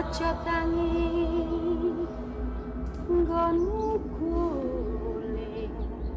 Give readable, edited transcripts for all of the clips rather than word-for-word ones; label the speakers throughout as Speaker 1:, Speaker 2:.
Speaker 1: aja tangi nggonmu guling.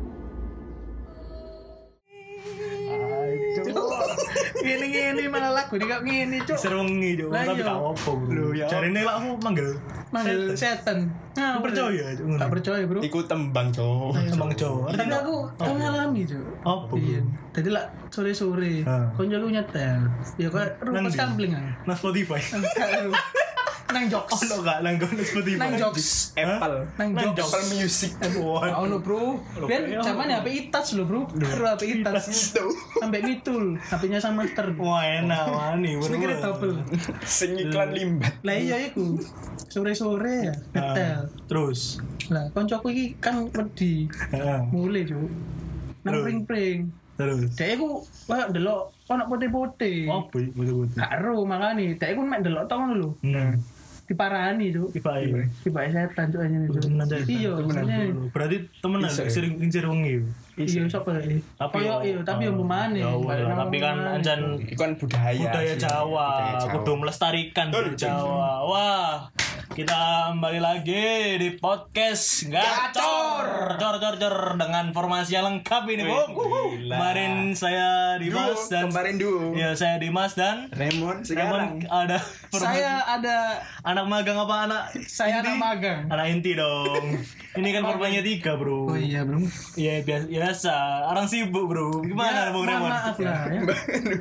Speaker 2: Gini malah lagu ini gak ngene cuk.
Speaker 3: Serengi cuk,
Speaker 2: Lah
Speaker 3: tapi
Speaker 2: iya.
Speaker 3: gak apa bro.
Speaker 2: Loh, ya.
Speaker 3: Jarine lak aku manggil
Speaker 2: Setan.
Speaker 3: Aku percaya cuk.
Speaker 2: Tak percaya, Bro.
Speaker 4: Iku tembang Cok.
Speaker 3: Tembang Jawa.
Speaker 2: Tapi aku ngalami, Cuk.
Speaker 3: Apa, Bro?
Speaker 2: Iya. Jadi lah sore-sore koncoku nyetel. Ya kok rumus
Speaker 3: Ndi?
Speaker 2: kampling ah.
Speaker 3: Nah Spotify.
Speaker 2: Nang jokes.
Speaker 3: Ono gak nang Spotify?
Speaker 2: Nang jokes.
Speaker 4: Apple.
Speaker 2: Nang jokes.
Speaker 4: Apple Music.
Speaker 2: Oh no bro, biar zaman HP itas lo bro, HP itas sampai mitul, HP-nya sama master.
Speaker 3: Wah enak wani.
Speaker 2: Speaker double.
Speaker 4: Sing iklan limbat.
Speaker 2: Lah iya iku, sore-sore ya, ngetel.
Speaker 3: Terus.
Speaker 2: Lah koncoku iki kan wedi, mulai cuk, nang
Speaker 3: Terus?
Speaker 2: pring-pring.
Speaker 3: Terus.
Speaker 2: Dek iku wah delok ono putih-putih.
Speaker 3: Apa iki betul-betul?
Speaker 2: Gak ero makane, dek iku mek delok tong lho. Diparani cuk. Tiba setan cuk anjene cuk. Iya, sebenarnya.
Speaker 3: Berarti temenan sering ngincir wengi.
Speaker 2: Iya sapa iki? Koyo iya, tapi yo mbemane.
Speaker 3: Tapi kan anjan
Speaker 4: Iku kan budaya
Speaker 3: Jawa, kudu melestarikan budaya Jawa. Wah, kita kembali lagi di podcast Gacor. Jor dengan formasi yang lengkap ini, Bung. Kemarin saya Dimas dan
Speaker 4: kemarin duo.
Speaker 3: ya saya Dimas dan
Speaker 4: Raymond sekarang.
Speaker 3: ada
Speaker 2: Saya ada
Speaker 3: anak magang apa anak?
Speaker 2: saya anak magang.
Speaker 3: Anak inti dong. Ini kan formanya 3, Bro.
Speaker 2: Oh iya, Bro.
Speaker 3: Iya biasa. Orang sibuk, Bro. Gimana, Bung Raymond?
Speaker 2: Maaf lah ya.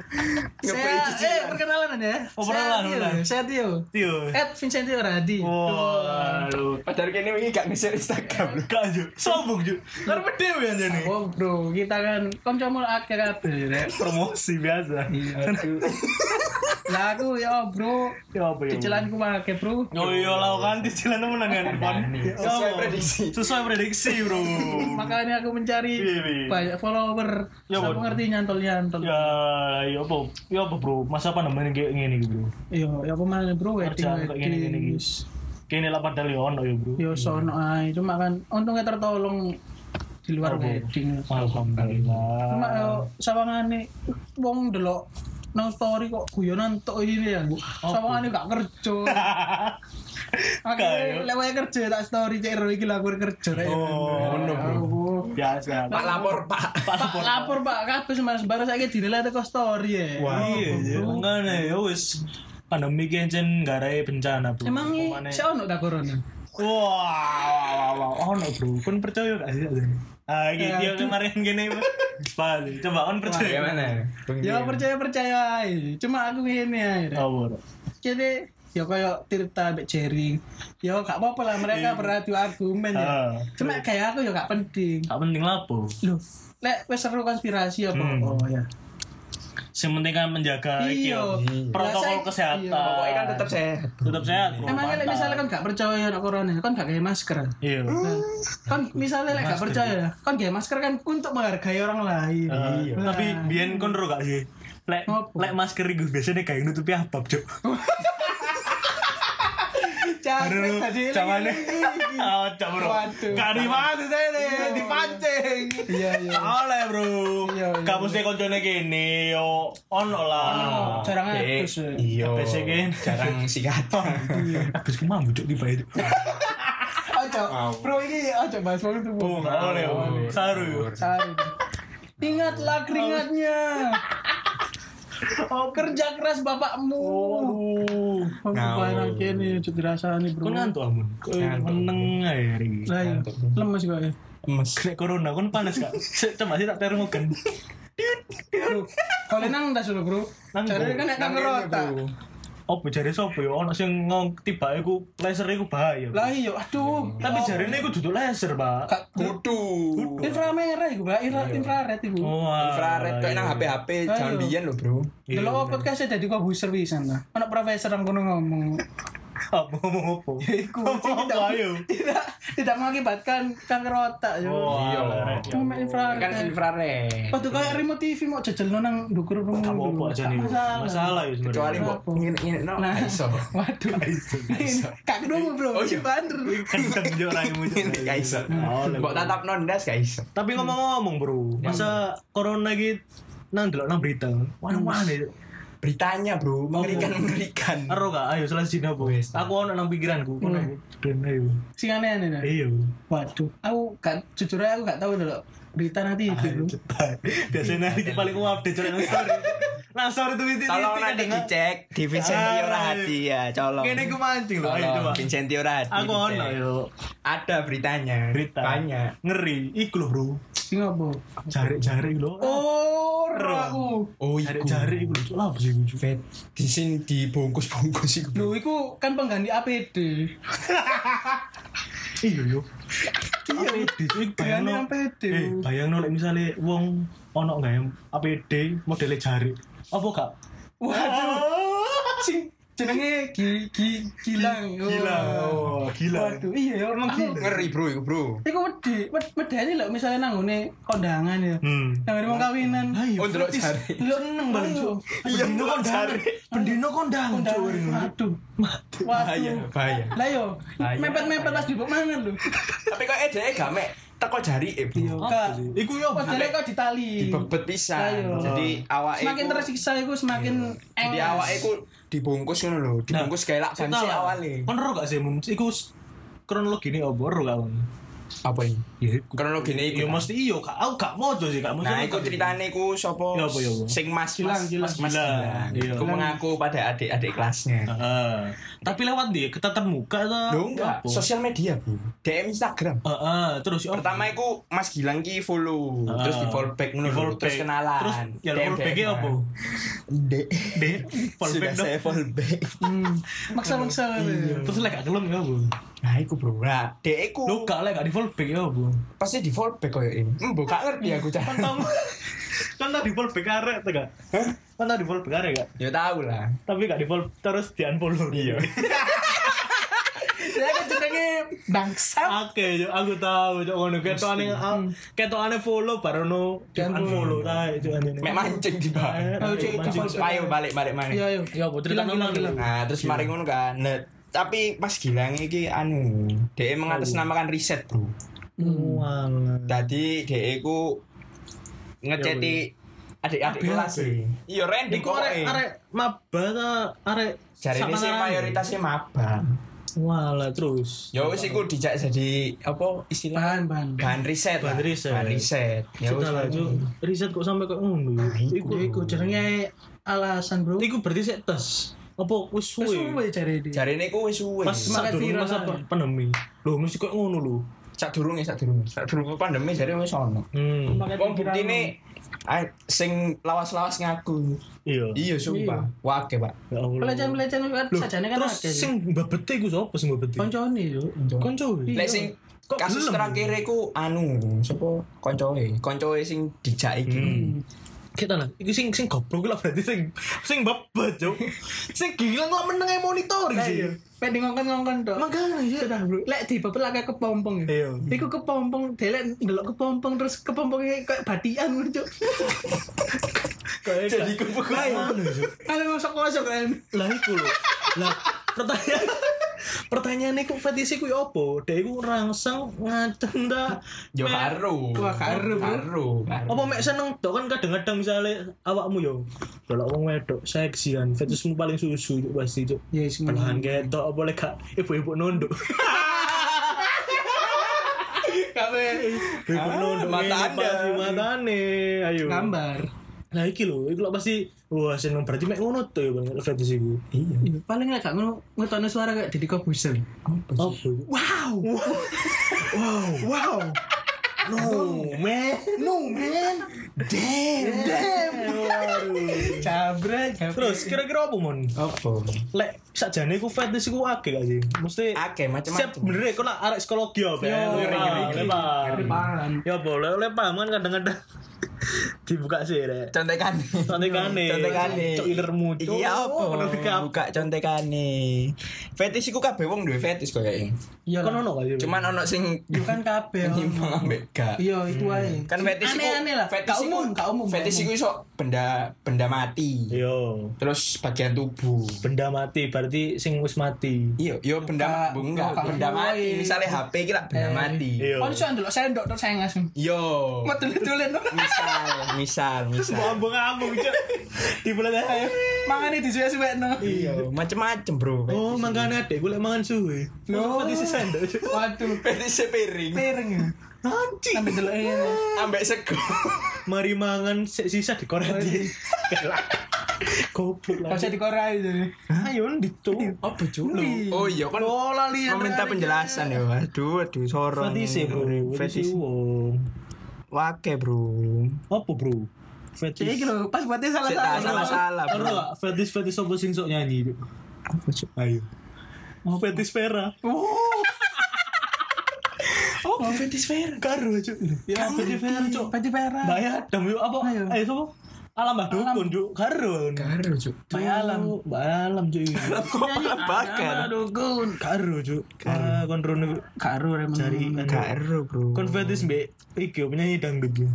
Speaker 2: Saya perkenalan aja ya.
Speaker 3: Oh, perkenalan.
Speaker 2: Saya Tio.
Speaker 3: Tio.
Speaker 2: Vincentio Radi.
Speaker 3: Waduh.
Speaker 4: Padahal kene wingi gak nge-share Instagram.
Speaker 3: Gak aja. Sombong juga. Karena dewe aja nih.
Speaker 2: Oh, Bro, kita kan kancamu akeh kabeh rek.
Speaker 3: Promosi biasa.
Speaker 2: Lah aku ya, Bro.
Speaker 3: Ya apa ya?
Speaker 2: Cicilanku akeh, Bro.
Speaker 3: Oh iya lah kan cicilan temenan kan.
Speaker 4: Sesuai prediksi.
Speaker 3: Sesuai prediksi, Bro.
Speaker 2: Makanya aku mencari
Speaker 3: Iya.
Speaker 2: banyak follower.
Speaker 3: Ya,
Speaker 2: Saya
Speaker 3: Bro.
Speaker 2: ngerti nyantol-nyantol.
Speaker 3: Ya, ya apa? Ya apa, Bro? Masa apa namanya kayak gini, Bro?
Speaker 2: Iya, ya apa mana, Bro?
Speaker 3: Kerjaan kayak gini-gini, guys. Kene lah padahal ya ono ya, Bro.
Speaker 2: Yo sono ae, cuma kan untungnya tertolong di luar wedding.
Speaker 3: Alhamdulillah.
Speaker 2: Cuma yo sawangane wong delok nang story kok guyonan tok ini ya. Sawangane gak kerja. Akhirnya lewat kerja tak story cek ro iki laku kerja rek.
Speaker 3: Ngono, Bro. Biasa.
Speaker 4: Pak lapor, Pak.
Speaker 2: Pak lapor Pak kabeh sembarang saiki dinilai teko story ya.
Speaker 3: Iya, makanya ya wis pandemi ki encen garai bencana, Bro.
Speaker 2: Emang
Speaker 3: Pemane-
Speaker 2: iki ono ta corona?
Speaker 3: Wah, ono, Bro. Kon percaya gak sih? Ah, gitu kemarin gini, Bali. Coba kon percaya.
Speaker 4: Gimana?
Speaker 2: Ya percaya ae. Cuma aku ngene ae. Rek.
Speaker 3: Oh, Bro.
Speaker 2: Jadi ya kayak Tirta mbek Jerry. Ya gak apa-apa lah mereka beradu argumen ya. Cuma kayak aku ya gak penting.
Speaker 3: Gak penting lapo.
Speaker 2: Loh, lek wis seru konspirasi apa? Oh ya.
Speaker 3: Yang penting kan menjaga iki
Speaker 2: Iya.
Speaker 3: yo, protokol kesehatan.
Speaker 2: Iya.
Speaker 4: Pokoknya kan tetap sehat.
Speaker 3: Tetap sehat, Bro.
Speaker 2: Emangnya lek misalnya kan gak percaya nek corona, kan gak pakai masker.
Speaker 3: Iya.
Speaker 2: Nah, kan misalnya lek gak percaya, kan pakai masker kan untuk menghargai orang lain. Nah.
Speaker 3: Tapi biyen kon ro gak sih? Lek
Speaker 2: Apa?
Speaker 3: lek masker iku biasanya kayak nutupi apa, Cuk?
Speaker 2: Jangan tadi
Speaker 3: Jangan oh, Cuk, Bro.
Speaker 2: Waduh.
Speaker 3: Gak di mana saya nih, dipancing.
Speaker 2: Iya iya.
Speaker 3: Oleh, Bro.
Speaker 2: Iya, iya.
Speaker 3: Kamu sih koncone kene yo ono lah.
Speaker 2: Jarang atus.
Speaker 4: Iya.
Speaker 3: Basic kan.
Speaker 4: Jarang sikat.
Speaker 3: Habis ki mambu Cuk tiba itu.
Speaker 2: Ojo, bro ini ojo bahas wong itu.
Speaker 3: Oh, gak oleh. Saru yo.
Speaker 2: Sari. Ingatlah keringatnya. Oh, kerja keras bapakmu.
Speaker 3: Oh.
Speaker 2: Banyak ini cukup dirasani, Bro.
Speaker 3: Kon ngantuk amun. Meneng ae hari iki.
Speaker 2: Lah iya, lemes kok ya.
Speaker 3: Kena corona kon panas gak? Coba sih tak termogan.
Speaker 2: Bro, kalau nang ndas lho, Bro.
Speaker 3: Nang
Speaker 2: Cari
Speaker 3: bro.
Speaker 2: kan nek kamera otak.
Speaker 3: Opo jare sapa ya ono sing ngong tiba iku laser iku bahaya.
Speaker 2: Lah iya, aduh.
Speaker 3: Tapi jarene iku duduk laser, Pak.
Speaker 2: Kak
Speaker 4: Kudu.
Speaker 2: inframerah iku, Pak. Infrared iku.
Speaker 4: Infrared kok nang HP-HP jambian lho, Bro.
Speaker 2: Delok podcast dadi kok buser pisan ta. Ana profesor nang kono ngomong.
Speaker 3: Apa ngomong apa?
Speaker 2: Iku tidak mengakibatkan kanker otak yo.
Speaker 3: Iya.
Speaker 2: Cuma infrared.
Speaker 4: Kan infrared.
Speaker 2: Waktu kayak remote TV mau jajelno nang ndukur rumah.
Speaker 3: Apa aja nih? Masalah ya sebenarnya.
Speaker 4: Kecuali mbok ingin
Speaker 2: Nah,
Speaker 4: iso.
Speaker 2: waduh. Kak kedua Bro.
Speaker 4: Oh, iya.
Speaker 2: Bander.
Speaker 3: Kenceng yo orangmu.
Speaker 4: Gak iso. Mbok tatap nondas gak iso.
Speaker 3: Tapi ngomong-ngomong, Bro. Masa corona iki nang delok nang berita. Wah-wah nih.
Speaker 4: beritanya, Bro. Mengerikan.
Speaker 3: Ero gak? Ayo selesai apa?
Speaker 4: Wes.
Speaker 3: Aku ono nang pikiranku. Kono. Ben ayo.
Speaker 2: Sing aneh-aneh dah.
Speaker 3: Iya.
Speaker 2: Waduh, aku gak jujur aja aku gak tahu dulu berita nanti itu.
Speaker 3: Biasanya nanti paling update cari nang story. Nang story tuh titik.
Speaker 4: Tolong nanti dicek di Vincentio Rahati ya, colong.
Speaker 3: Kene ku mancing lho, ayo coba.
Speaker 4: Vincentio Rahati.
Speaker 3: Aku ono
Speaker 4: dicek.
Speaker 3: yo.
Speaker 4: Ada beritanya.
Speaker 3: Berita.
Speaker 4: Banyak.
Speaker 3: Ngeri. Iku lho, Bro.
Speaker 2: Sing apa?
Speaker 3: Jari-jari lho.
Speaker 2: Oh, aku.
Speaker 4: Oh,
Speaker 3: Jari-jari iku lho. Lah apa sih iku?
Speaker 4: di sini dibungkus-bungkus iku.
Speaker 2: Lho, iku kan pengganti APD.
Speaker 3: Iya yo.
Speaker 2: Iya,
Speaker 3: Bayangno
Speaker 2: APD.
Speaker 3: bayangno lek misale wong ono gawe APD modele jari. Apa gak?
Speaker 2: Waduh. Sing jenenge Gilang.
Speaker 3: Oh, gila.
Speaker 2: Waduh, iya ya orang gila.
Speaker 4: Ngeri, Bro, iku, Bro.
Speaker 2: Iku medeni lho misalnya nang ngene kondangan ya. Nang ngene wong kawinan.
Speaker 3: Ayo.
Speaker 4: Oh, ndelok jari.
Speaker 2: Lho seneng banget, Cuk.
Speaker 4: Iya, ndelok jari.
Speaker 3: Pendino kondang.
Speaker 2: Waduh.
Speaker 4: Bahaya, bahaya.
Speaker 2: Lah yo,
Speaker 4: Bahaya.
Speaker 2: mepet-mepet pas dibuk mangan lho.
Speaker 4: Tapi kok edeke gak mek teko jari, Bro.
Speaker 2: Kak,
Speaker 3: Iku yo
Speaker 2: padahal kok ditali.
Speaker 4: Dibebet pisan.
Speaker 2: Ayo.
Speaker 4: Jadi awake
Speaker 2: Semakin
Speaker 4: iku-
Speaker 2: tersiksa iku semakin
Speaker 4: Jadi awake iku dibungkus ngono lho, dibungkus kayak lak ban sih awale.
Speaker 3: Kon ero gak sih mun iku kronologine apa ero gak kon?
Speaker 4: Apa ini?
Speaker 3: Ya
Speaker 4: Kronologine iku.
Speaker 3: ya mesti iya kak. Aku gak mojo sih kak.
Speaker 4: Nah, iku ceritane iku sapa?
Speaker 3: Ya, apa, ya, apa?
Speaker 4: Sing Mas
Speaker 2: Gilang.
Speaker 3: Gilang. Iya.
Speaker 4: Iku mengaku pada adik-adik kelasnya.
Speaker 3: Heeh. Tapi lewat dia ketatap muka ta?
Speaker 4: Lho enggak,
Speaker 3: Apa?
Speaker 4: sosial media, Bro. DM Instagram.
Speaker 3: Heeh, terus yo.
Speaker 4: Pertama iku Mas Gilang ki follow, terus di follow back ngono lho,
Speaker 3: Di-follow
Speaker 4: terus
Speaker 3: back.
Speaker 4: kenalan.
Speaker 3: Terus ya follow back-nya apa?
Speaker 4: Dek.
Speaker 3: Dek, follow
Speaker 4: Sudah
Speaker 3: back dong.
Speaker 4: saya follow back.
Speaker 2: maksa-maksa.
Speaker 3: Terus lek gak gelem ya apa?
Speaker 4: Nah, iku, Bro. Nah, dek iku
Speaker 3: Lu gak lek gak di follow back ya apa?
Speaker 4: pasti di follow back koyo ini. Mbok gak ngerti aku cara.
Speaker 3: Kan tau di follow back arek ta gak?
Speaker 4: Hah?
Speaker 3: Kan tau di follow back arek gak?
Speaker 4: Ya tahu lah.
Speaker 3: Tapi gak di follow terus di unfollow. Iya.
Speaker 2: Saya kan jenenge bangsa.
Speaker 3: Oke, yo aku tahu yo ngono ketokane follow barono di unfollow ta itu anjene.
Speaker 4: Mek mancing di bawah.
Speaker 2: Ayo, Cik,
Speaker 3: Mancing.
Speaker 2: coba.
Speaker 4: Ayo balik mana?
Speaker 2: Iya, ayo.
Speaker 3: Ya apa cerita
Speaker 2: Gilang.
Speaker 4: Nah, terus mari ngono kan. Nah, tapi pas Gilang iki anu, dhek mengatasnamakan riset, Bro.
Speaker 3: Walah.
Speaker 4: Dadi dhek iku ngeceti adik-adik kelas e. Iya, random
Speaker 3: Iku arek maba ta arek
Speaker 4: jarine sih
Speaker 3: samaran.
Speaker 4: mayoritasnya maba.
Speaker 3: Walah terus.
Speaker 4: Ya wis iku dijak jadi apa istilah
Speaker 2: Bahan.
Speaker 4: riset.
Speaker 3: Bahan
Speaker 4: lah.
Speaker 3: riset.
Speaker 4: Bahan riset. Ya wis.
Speaker 3: Kita lah Cuk. Riset kok sampai kok ngono.
Speaker 2: Iku jenenge alasan, Bro.
Speaker 3: Iku berarti sik tes. Apa wis suwe?
Speaker 2: Suwe cari dia.
Speaker 4: Jarine iku wis suwe.
Speaker 3: Pas
Speaker 2: Semangat
Speaker 3: sadurunge
Speaker 2: viral
Speaker 3: masa
Speaker 2: aja.
Speaker 3: pandemi. Loh mesti kok ngono lho.
Speaker 4: Sadurunge pandemi jare wis ono. Wong buktine sing lawas-lawas ngaku.
Speaker 3: Iya.
Speaker 4: Iya, sumpah. Wake, Pak.
Speaker 3: Ya Allah.
Speaker 2: Pelecehan kan
Speaker 3: Loh,
Speaker 2: sajane kan
Speaker 3: terus
Speaker 2: akeh.
Speaker 3: sing babete iku sapa sing babete?
Speaker 2: Koncone yo.
Speaker 3: Konco.
Speaker 4: Lek sing
Speaker 3: Kok
Speaker 4: kasus
Speaker 3: gelem?
Speaker 4: terakhir iku anu, sapa koncoe sing dijak iki.
Speaker 3: Kita lah, iku sing goblok lah berarti sing babet, Cuk. Sing gila kok meneng monitoring sih.
Speaker 2: Pek di ngongkon-ngongkon tok.
Speaker 3: Makanya ya.
Speaker 2: Sudah, Bro. Lek dibebel akeh kepompong ya.
Speaker 3: Iya.
Speaker 2: Iku kepompong, delek ndelok kepompong terus kepompongnya kayak batian ngono, Cuk.
Speaker 3: Jadi kepekaan.
Speaker 2: Ale masuk-masuk kan.
Speaker 3: Lah iku lho. Lah pertanyaan iku fetish iku ya apa? Dek iku rangsang ngaceng ta.
Speaker 4: Yo karo.
Speaker 2: Wah, karo.
Speaker 3: Apa mek seneng tok kan kadang-kadang misalnya awakmu yo delok wong wedok seksi kan fetishmu paling susu Cuk, pasti Cuk.
Speaker 2: Ya wis ngono.
Speaker 3: Belahan ketok apa lek gak ibu-ibu nunduk.
Speaker 2: Kabeh
Speaker 3: Ibu nunduk
Speaker 4: mata
Speaker 3: ngene, pasti matane. Ayo.
Speaker 2: gambar.
Speaker 3: Nah iki lho, iku lho pasti wah seneng berarti mek ngono to ya Bang fetish iku.
Speaker 2: Iya, paling gak ngono ngetone suara kayak Deddy Corbuzier.
Speaker 3: Apa?
Speaker 2: Wow. Wow.
Speaker 3: No, man.
Speaker 2: Jabret.
Speaker 3: Terus kira-kira apa mon?
Speaker 4: Apa?
Speaker 3: Lek sakjane iku fetish iku akeh gak sih? Mesti
Speaker 4: Akeh
Speaker 3: siap
Speaker 4: macam-macam.
Speaker 3: bener kok nak arek psikologi apa ya?
Speaker 2: ngeri. Paham.
Speaker 3: Ya boleh paham kan kadang-kadang dibuka sih rek.
Speaker 4: Contekane.
Speaker 3: Contekane. Cok ilermu cok.
Speaker 4: Iya apa?
Speaker 3: Menurut kamu.
Speaker 4: Buka contekane. Fetish iku kabeh wong duwe fetish koyoke.
Speaker 2: Iya.
Speaker 3: Kan ono gak sih?
Speaker 4: Cuman ono sing
Speaker 2: Bukan kabeh.
Speaker 4: nyimpang ambek gak.
Speaker 2: Iya, itu ae.
Speaker 4: Kan fetish iku
Speaker 2: aneh-aneh lah. Gak umum.
Speaker 4: Fetish iku iso benda mati.
Speaker 3: Yo,
Speaker 4: Terus bagian tubuh.
Speaker 3: benda mati berarti sing wis mati.
Speaker 4: Iya, yo benda enggak, benda mati. Misalnya HP iki lah benda mati.
Speaker 3: Iya.
Speaker 2: Oh, iso ndelok sendok terus saya ngasem.
Speaker 4: Yo.
Speaker 2: Metu-metulen.
Speaker 4: Misal.
Speaker 3: Ambung-ambung cuk. Di bulan ayo.
Speaker 2: Mangane disuwe-suwekno.
Speaker 4: Iya, macem-macem, Bro.
Speaker 3: Oh, mangkane adek golek mangan suwe.
Speaker 2: Loh.
Speaker 3: Lho, di sendok cuk.
Speaker 2: Waduh,
Speaker 4: Fetis piring.
Speaker 2: piring ya.
Speaker 3: Anjing.
Speaker 2: Sampai deloke.
Speaker 4: Ambek sego.
Speaker 3: Mari mangan sisa dikoreti. Goblok lah.
Speaker 2: Konsep dikorai itu.
Speaker 3: Ayo ditu.
Speaker 4: Apa Cuk? Oh iya kan.
Speaker 2: Oh, lali.
Speaker 4: Meminta penjelasan ya. Aduh, sorong.
Speaker 3: Fetis bro.
Speaker 4: Fetis. Wake, Bro.
Speaker 3: Apa bro? Fetis.
Speaker 2: Iki lho, pas buatnya
Speaker 4: Salah,
Speaker 3: Aduh,
Speaker 4: Bro.
Speaker 3: fetis apa sing sok nyanyi? Cuk?
Speaker 4: Apa Cuk?
Speaker 3: Ayo. Fetis Vera.
Speaker 2: Oh, fetis fair.
Speaker 3: Karo cuk. Ya fetis Vera cuk.
Speaker 2: Fetis fair.
Speaker 3: Bayar dam yuk apa?
Speaker 2: Ayo.
Speaker 3: Ayo sopo? Alam Mbah Dukun cuk. Karo.
Speaker 4: Karo Cuk.
Speaker 2: Bayalam.
Speaker 3: Bayalam cuk.
Speaker 4: Bakar.
Speaker 2: Dukun.
Speaker 3: Karo cuk. Kon rono
Speaker 2: Karo emang.
Speaker 3: cari
Speaker 4: Karo, Bro.
Speaker 3: kon fetis mbek iki penyanyi dangdut yo.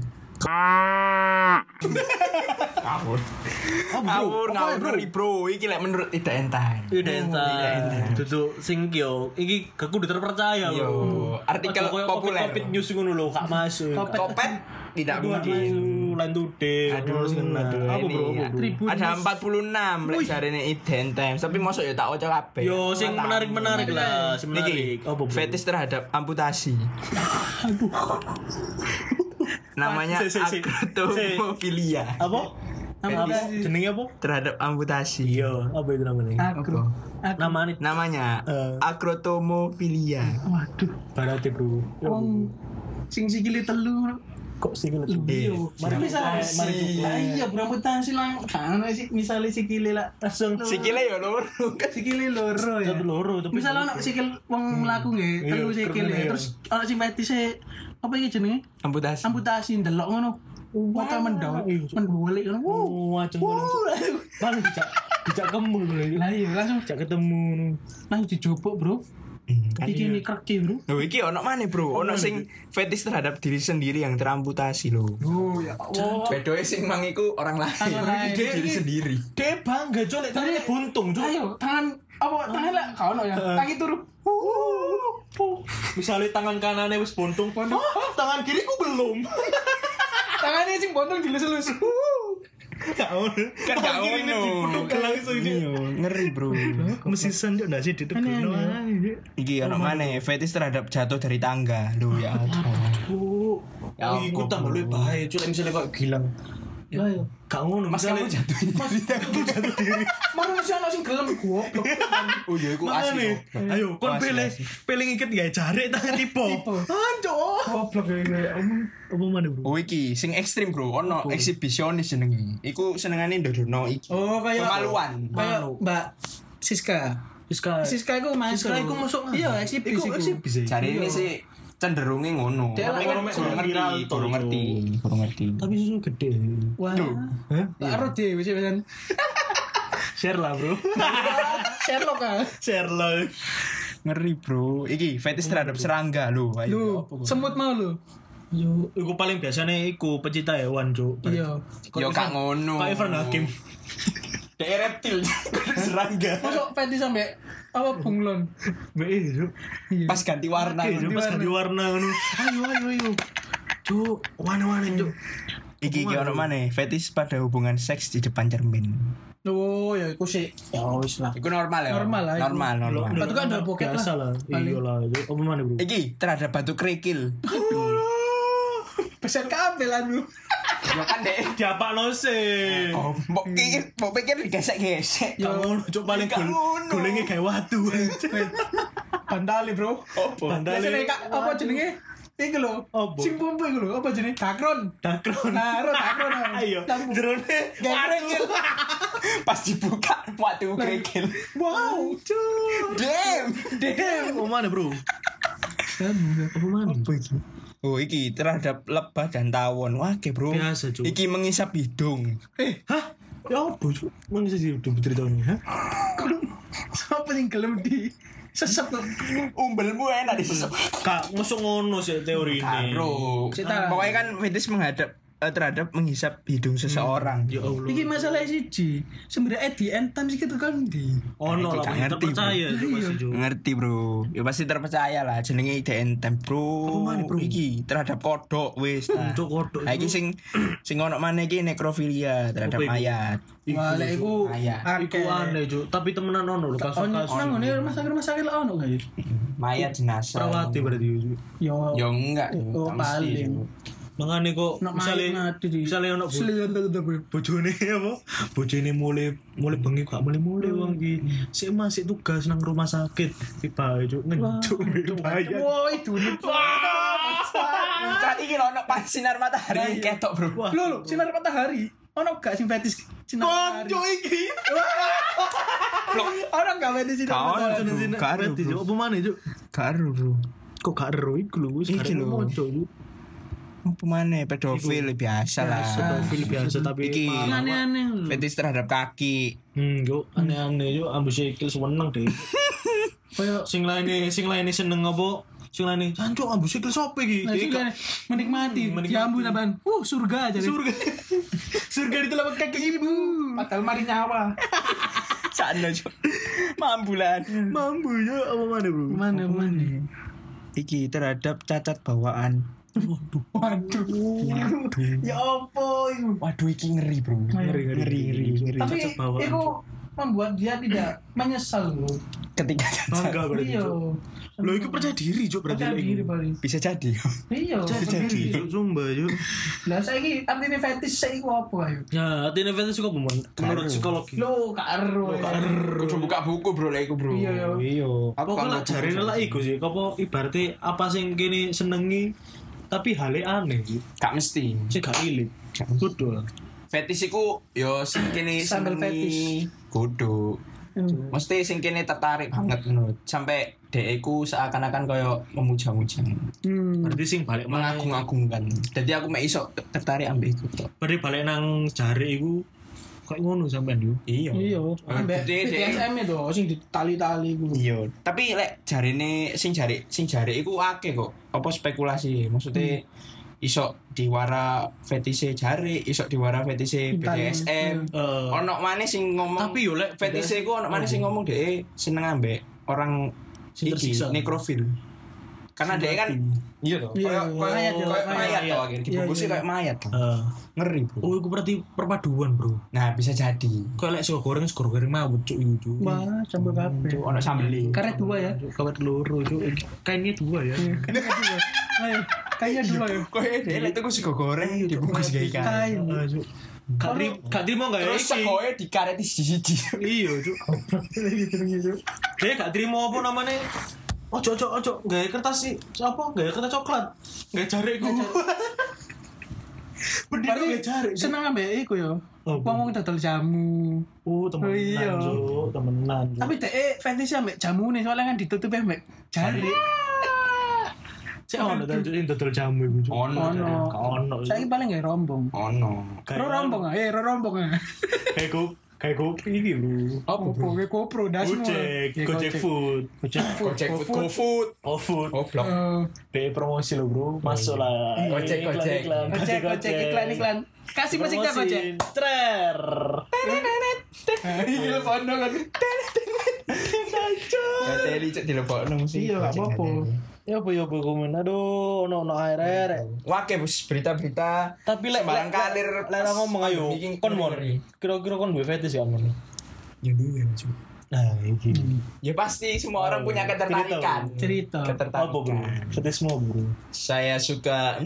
Speaker 4: Ngawur Bro. Iki lek menurut tidak entah.
Speaker 3: Identitas. Duduk sing yo iki gak kudu terpercaya
Speaker 4: Yo,
Speaker 3: lho.
Speaker 4: artikel populer.
Speaker 3: Kopit news ngono lho gak masuk.
Speaker 4: Kopet tidak mungkin.
Speaker 3: Lan tude.
Speaker 4: Aduh,
Speaker 3: Apa bro?
Speaker 4: ini,
Speaker 3: Apa, bro?
Speaker 4: ada 46 lek jarene Identitas, tapi mosok ya tak waca kabeh.
Speaker 3: Yo sing menarik-menarik lah, sing menarik.
Speaker 4: Niki,
Speaker 3: Apa bro?
Speaker 4: fetis terhadap amputasi. Namanya
Speaker 3: Si.
Speaker 4: acrotomofilia.
Speaker 3: Apa? Apa? Jenenge apa?
Speaker 4: Terhadap amputasi.
Speaker 3: Iya, apa itu namanya?
Speaker 2: Agro.
Speaker 3: Namanya
Speaker 4: Namanya acrotomofilia.
Speaker 2: Waduh.
Speaker 3: berarti bro.
Speaker 2: Wong sing sikile telu.
Speaker 3: Kok sih kalau
Speaker 2: Iya.
Speaker 3: Mari
Speaker 2: Bisa
Speaker 3: mari
Speaker 2: lah iya berambutansi lang. Kan sih misalnya sikile lah langsung
Speaker 4: Sikile ya lur.
Speaker 2: sikile loro ya.
Speaker 3: satu loro tapi
Speaker 2: Misalnya anak sikil wong mlaku nggih, telu
Speaker 3: Iya,
Speaker 2: sikil
Speaker 3: keren,
Speaker 2: ya.
Speaker 3: iya.
Speaker 2: Terus ana sing fetise apa iki jenenge?
Speaker 4: Amputasi.
Speaker 2: Amputasi ndelok ngono. Mata mendok,
Speaker 3: Iya.
Speaker 2: mendolik ngono.
Speaker 3: wajeng bang dijak kemul
Speaker 2: Lah iya langsung
Speaker 3: dijak ketemu
Speaker 2: langsung dijobok, Bro. Iki ini kreki, Bro.
Speaker 4: Loh iki ono mana Bro? Ono sing fetis terhadap diri sendiri yang teramputasi loh.
Speaker 2: Oh ya Allah.
Speaker 4: Bedoe sing mang iku orang lain.
Speaker 2: Orang lain.
Speaker 4: Iki diri sendiri.
Speaker 3: dia bangga colek tangannya buntung cuk.
Speaker 2: Ayo, tangan apa tangan lah kau no ya. Kaki turu.
Speaker 3: Misalnya tangan kanannya wis buntung tangan kiriku belum
Speaker 2: Tangannya sing bontong dilus-lus.
Speaker 4: Kan gak ono.
Speaker 3: langsung
Speaker 4: Iya, ngeri Bro.
Speaker 3: mesisan dia nggak sih di depan
Speaker 4: Iki ono mana fetis terhadap jatuh dari tangga. Loh ya Allah. Ya
Speaker 3: oh ikut tambah lebih bahaya cuy misalnya kok gilang
Speaker 2: Lah yo.
Speaker 3: gak ngono
Speaker 4: Mas kamu jatuh.
Speaker 3: jatuh diri
Speaker 2: Manusia ana sing gelem goblok.
Speaker 4: Oh iya iku
Speaker 3: makanya
Speaker 4: asli.
Speaker 3: ayo kon
Speaker 4: Asli,
Speaker 3: pilih
Speaker 4: asli.
Speaker 3: pilih iket gak jarik tangan tipe anjok
Speaker 2: Goblok ya.
Speaker 3: apa mana bro
Speaker 4: Oh iki sing ekstrim Bro, ono eksibisionis jenenge. Iku senengane ndodono iki.
Speaker 2: Oh kayak
Speaker 4: Kemaluan.
Speaker 2: Kayak Mbak Siska. Siska iku masuk.
Speaker 3: Siska iku masuk.
Speaker 2: Iya, eksibisi.
Speaker 3: Iku eksibisi.
Speaker 4: Cari ini sih cenderungnya ngono.
Speaker 2: Dia
Speaker 4: Tapi kan
Speaker 3: lah,
Speaker 4: kurang
Speaker 3: viral
Speaker 4: ngerti,
Speaker 3: tuh,
Speaker 4: kurang ngerti.
Speaker 3: Tapi susu gede.
Speaker 2: Wah.
Speaker 3: Hah?
Speaker 2: Karo dhewe sih pesan.
Speaker 3: Share lah bro.
Speaker 2: Sherlock kan.
Speaker 3: Share lah.
Speaker 4: Ngeri Bro. Iki fetis terhadap serangga lho.
Speaker 2: Lu semut mau lu.
Speaker 3: Yo, iku paling biasanya iku pecinta hewan cuk.
Speaker 2: Iya.
Speaker 4: Yo gak ngono.
Speaker 3: Pak Irfan Hakim.
Speaker 4: Dek reptil serangga.
Speaker 2: Masuk fetish sampai apa bunglon.
Speaker 3: Be cuk.
Speaker 4: Pas ganti warna.
Speaker 3: Oke, cuk, pas ganti warna ngono. Ayo. Cuk, warna-warna cuk.
Speaker 4: Iki ono mana? Fetis pada hubungan seks di depan cermin.
Speaker 2: Oh ya iku sih. Ya wis lah.
Speaker 4: Iku normal ya.
Speaker 2: Normal lah, iku.
Speaker 4: Normal.
Speaker 2: Batu kan ada pocket
Speaker 3: biasa
Speaker 2: lah.
Speaker 3: lah. Iya lah. Apa mana bro?
Speaker 4: Iki terhadap batu kerikil.
Speaker 2: Pesan kabel lah lu.
Speaker 4: Ya kan dek.
Speaker 3: Diapa lo sih?
Speaker 4: Oh, mbok pikir digesek-gesek.
Speaker 3: Gak ngono cuk paling
Speaker 4: Gak ngono.
Speaker 3: golenge kayak watu.
Speaker 2: Bandali, Bro.
Speaker 4: Opo?
Speaker 2: Biasanya kak apa jenenge? Iku lho.
Speaker 3: Apa?
Speaker 2: Sing pumpu iku lho, apa jenenge? Dakron.
Speaker 3: Dakron.
Speaker 2: Nah, dakron.
Speaker 3: Ayo. Jerone
Speaker 2: Kerikil.
Speaker 4: Pas dibuka waktu kerikil.
Speaker 2: Wow, cuk.
Speaker 4: Damn.
Speaker 3: Apa mana bro? Apa mana? Apa itu?
Speaker 4: Oh iki terhadap lebah dan tawon. Wah, Bro.
Speaker 3: Biasa, Cuk.
Speaker 4: Iki mengisap hidung.
Speaker 3: Hah? Ya apa cuk? Mana sih udah ceritanya? Hah?
Speaker 2: Siapa yang gelem di sesep tuh?
Speaker 4: Umbelmu enak disesep.
Speaker 3: Kak, masuk ngono sih teori ini.
Speaker 4: Bro.
Speaker 2: Cerita.
Speaker 4: Pokoknya kan fetis menghadap terhadap menghisap hidung seseorang.
Speaker 3: Ya Allah.
Speaker 2: Iki masalah siji. Sebenarnya di end time iki tekan ndi?
Speaker 3: Ono lah
Speaker 4: Gak
Speaker 3: kita
Speaker 4: ngerti,
Speaker 3: percaya Cuk, pasti Cuk.
Speaker 4: Ngerti bro, ya pasti terpercaya lah jenenge DNTM bro.
Speaker 3: Apa maneh, bro?
Speaker 4: Iki terhadap kodok wis. Nah.
Speaker 3: Cuk, kodok
Speaker 4: Nah, iki
Speaker 3: itu.
Speaker 4: sing ono maneh iki nekrofilia terhadap
Speaker 3: Apa iku?
Speaker 4: mayat.
Speaker 2: Wah, lek iku
Speaker 4: Mayat.
Speaker 3: Iku aneh Cuk, tapi temenan ono lho kasus-kasus.
Speaker 2: Nang ngene rumah sakit lah ono gak ya?
Speaker 4: Mayat jenazah.
Speaker 3: Perawati berarti Cuk.
Speaker 2: Yo.
Speaker 4: Ya enggak,
Speaker 2: Oh,
Speaker 4: tak mesti.
Speaker 2: paling.
Speaker 3: Mangane kok
Speaker 2: Nak
Speaker 3: misale
Speaker 2: mati di.
Speaker 3: misale ono
Speaker 2: Selian tetep.
Speaker 3: bojone apa? Bojone mulai bengi gak mulai wong iki. Sik Mas sik tugas nang rumah sakit. Tiba Cuk ngencuk bayar.
Speaker 2: Wah, itu nih.
Speaker 4: Saat iki lho ono pas sinar matahari ketok bro.
Speaker 2: Lho, sinar matahari. Ono gak sing fetis sinar matahari?
Speaker 3: iki.
Speaker 2: Ono gak fetis sinar
Speaker 4: Kau
Speaker 2: matahari?
Speaker 4: karo bro.
Speaker 3: Apa maneh Cuk?
Speaker 4: Karo bro.
Speaker 3: Kok gak ero iku lho wis
Speaker 4: Iki lho.
Speaker 3: moco Cuk.
Speaker 4: Apa maneh pedofil biasa lah.
Speaker 3: Pedofil biasa tapi
Speaker 4: Iki
Speaker 2: Aneh-aneh lho.
Speaker 4: fetis terhadap kaki.
Speaker 3: Yo aneh-aneh yo ambus sikil seneng deh.
Speaker 2: Kayak
Speaker 3: Sing lainnya seneng apa? Sing lainnya jancuk ambus sikil sopo iki?
Speaker 2: nah, sing menikmati, diambu naban. Surga aja.
Speaker 3: Surga. Surga di telapak kaki ibu.
Speaker 2: Padahal mari nyawa.
Speaker 4: Sakno Cuk. Mambulan.
Speaker 3: Mampu yo apa mana bro?
Speaker 2: Mana?
Speaker 4: Iki terhadap cacat bawaan.
Speaker 2: Waduh. Ya apa itu?
Speaker 4: Waduh iki ngeri bro.
Speaker 3: Ngeri.
Speaker 2: Tapi
Speaker 3: Cacat bawaan.
Speaker 2: itu membuat dia tidak menyesal loh.
Speaker 4: Ketika cacat
Speaker 3: Bangga berarti.
Speaker 2: Iya.
Speaker 3: Cuk. Lo itu percaya diri Cuk berarti.
Speaker 2: Percaya
Speaker 3: lek
Speaker 2: diri
Speaker 3: iku.
Speaker 2: paling.
Speaker 4: bisa jadi.
Speaker 2: Iya.
Speaker 3: Percaya diri Cuk sumpah Cuk.
Speaker 2: Lah saiki artine fetis saiki apa ayo?
Speaker 3: Ya, artinya fetish kok menurut psikologi.
Speaker 2: Lo karo.
Speaker 4: Kudu buka buku bro lek iku bro.
Speaker 2: Iya.
Speaker 3: Iya.
Speaker 4: Aku
Speaker 3: Pokoknya
Speaker 4: kalau
Speaker 3: jarine lah iku sih. Apa ibaratnya apa sing kene senengi tapi hale aneh sih.
Speaker 4: gak mesti.
Speaker 3: Sing gak ilit. Betul.
Speaker 4: Fetis iku yo sing kene
Speaker 2: Sambel
Speaker 4: senengi kudu. Mesti sing kene tertarik banget menurut. Sampai dhek iku seakan-akan koyo memuja-muja.
Speaker 3: Berarti sing balik mana?
Speaker 4: Mengagung-agungkan. Jadi aku mek iso tertarik ambek iku tok.
Speaker 3: Berarti balik nang jari iku kayak ngono sampean yo.
Speaker 4: Iya.
Speaker 2: Iya. Ambek
Speaker 4: Gede, Dek.
Speaker 2: BDSM itu sing ditali-tali ku.
Speaker 4: Iya. Tapi lek jarine sing jari iku akeh kok. Apa spekulasi? Maksudnya iso diwara fetise jari, iso diwara fetise BDSM. Ono maneh sing ngomong
Speaker 3: Tapi yo lek
Speaker 4: fetise iku ono maneh sing ngomong dhek seneng ambek orang
Speaker 3: Sing
Speaker 4: iki
Speaker 3: tersiksa.
Speaker 4: nekrofil. Karena dhek kan iya toh.
Speaker 2: Iya,
Speaker 4: Kayak
Speaker 2: mayat,
Speaker 4: mayat toh akhirnya dibungkusnya
Speaker 2: Iya,
Speaker 4: kayak mayat toh. Ngeri, Bro.
Speaker 3: Oh, itu berarti perpaduan, Bro.
Speaker 4: Nah, bisa jadi.
Speaker 3: Kayak lek sego goreng mawut cuk iku cuk.
Speaker 2: Wah, sambal kabeh.
Speaker 4: Ono sambeli.
Speaker 2: Karet dua ya.
Speaker 3: Kawat loro cuk. Kainnya 2 ya.
Speaker 2: Ayo, kayaknya dua ya.
Speaker 4: Kok dhek lek tuku sego goreng dibungkus gawe kain.
Speaker 2: Kain.
Speaker 3: Ah, Cuk. Gak terima gak ya
Speaker 4: Terus
Speaker 3: iki?
Speaker 4: segoe dikareti siji-siji.
Speaker 3: Iya, Cuk. Dia gak terima apa namanya? Ojo gawe kertas sih. Apa? Gawe kertas coklat. Gawe jari iku. Berdiri gawe jari.
Speaker 2: Seneng ambek iku yo.
Speaker 3: Oh,
Speaker 2: Wong dodol jamu.
Speaker 3: Oh, temenan,
Speaker 2: Iya.
Speaker 3: Cuk. Temenan. Cuk.
Speaker 2: Tapi dhek fetish ambek jamune soalnya kan ditutup ambek jari.
Speaker 3: Cek ono ta Cuk, dodol jamu iku Cuk.
Speaker 4: Ono.
Speaker 3: Ono.
Speaker 2: Saiki paling gak rombong.
Speaker 4: Ono.
Speaker 2: Ro rombong ah, rombong ah.
Speaker 3: Kayak ini lho.
Speaker 2: Apa bro? Kayak GoPro dasmu.
Speaker 3: Gojek food.
Speaker 4: Gojek food, GoFood.
Speaker 3: Oh,
Speaker 4: Blok.
Speaker 3: Be promosi lo bro, masuk lah.
Speaker 4: Gojek.
Speaker 2: Gojek iklan. Kasih musiknya Gojek.
Speaker 3: Trer.
Speaker 2: Iya, kono kan.
Speaker 4: Ya teli cek dilebokno musik.
Speaker 2: Iya, gak apa-apa.
Speaker 3: Ya apa komen. Aduh, ono air.
Speaker 4: Wake bos berita-berita.
Speaker 3: Tapi lek
Speaker 4: sembarang kalir
Speaker 3: lek ngomong ayo. Kon mon. Kira-kira kon duwe fetish ya mon.
Speaker 4: Ya duwe Cuk.
Speaker 3: Nah, iki.
Speaker 4: Ya pasti semua orang punya ketertarikan.
Speaker 2: Cerita.
Speaker 3: Apa bro?
Speaker 4: Ketertarikan.
Speaker 3: Fetish mo bro.
Speaker 4: Saya suka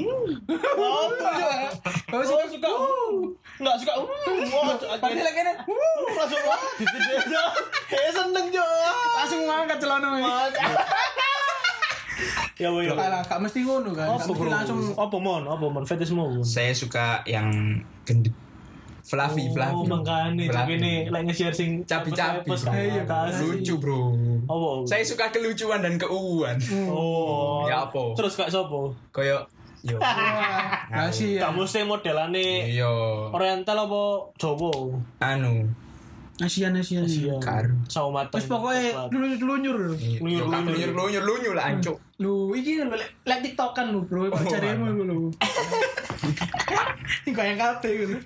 Speaker 2: Kau suka
Speaker 3: Enggak suka. Wah,
Speaker 2: Padahal lagi kan
Speaker 3: langsung wah. Seneng Jo.
Speaker 2: langsung ngangkat celana.
Speaker 3: Ya boy.
Speaker 2: Kalah, gak mesti ngono kan. Gak
Speaker 3: Apa
Speaker 2: mesti
Speaker 3: bro?
Speaker 2: langsung
Speaker 3: Apa mon fetish mo.
Speaker 4: saya suka yang gendut. Fluffy.
Speaker 3: Oh, makane ini lek nge-share sing
Speaker 4: Cabi-cabi.
Speaker 3: Iya,
Speaker 4: Lucu bro.
Speaker 3: Apa?
Speaker 4: Saya suka kelucuan dan keuuan.
Speaker 3: Oh.
Speaker 4: Ya apa?
Speaker 3: Terus kak sopo?
Speaker 4: Koyo yo.
Speaker 2: kasih ya.
Speaker 3: Kamu sih modelane
Speaker 4: Yo.
Speaker 3: Oriental apa Jawa?
Speaker 4: Anu.
Speaker 2: Asian.
Speaker 4: Karo.
Speaker 3: Sawo mateng.
Speaker 2: Wis pokoknya lunyur.
Speaker 4: Lunyu lah ancuk.
Speaker 2: Lu iki lek TikTokan lu, Bro. Pacaremu lu. Iku yang kabeh gitu.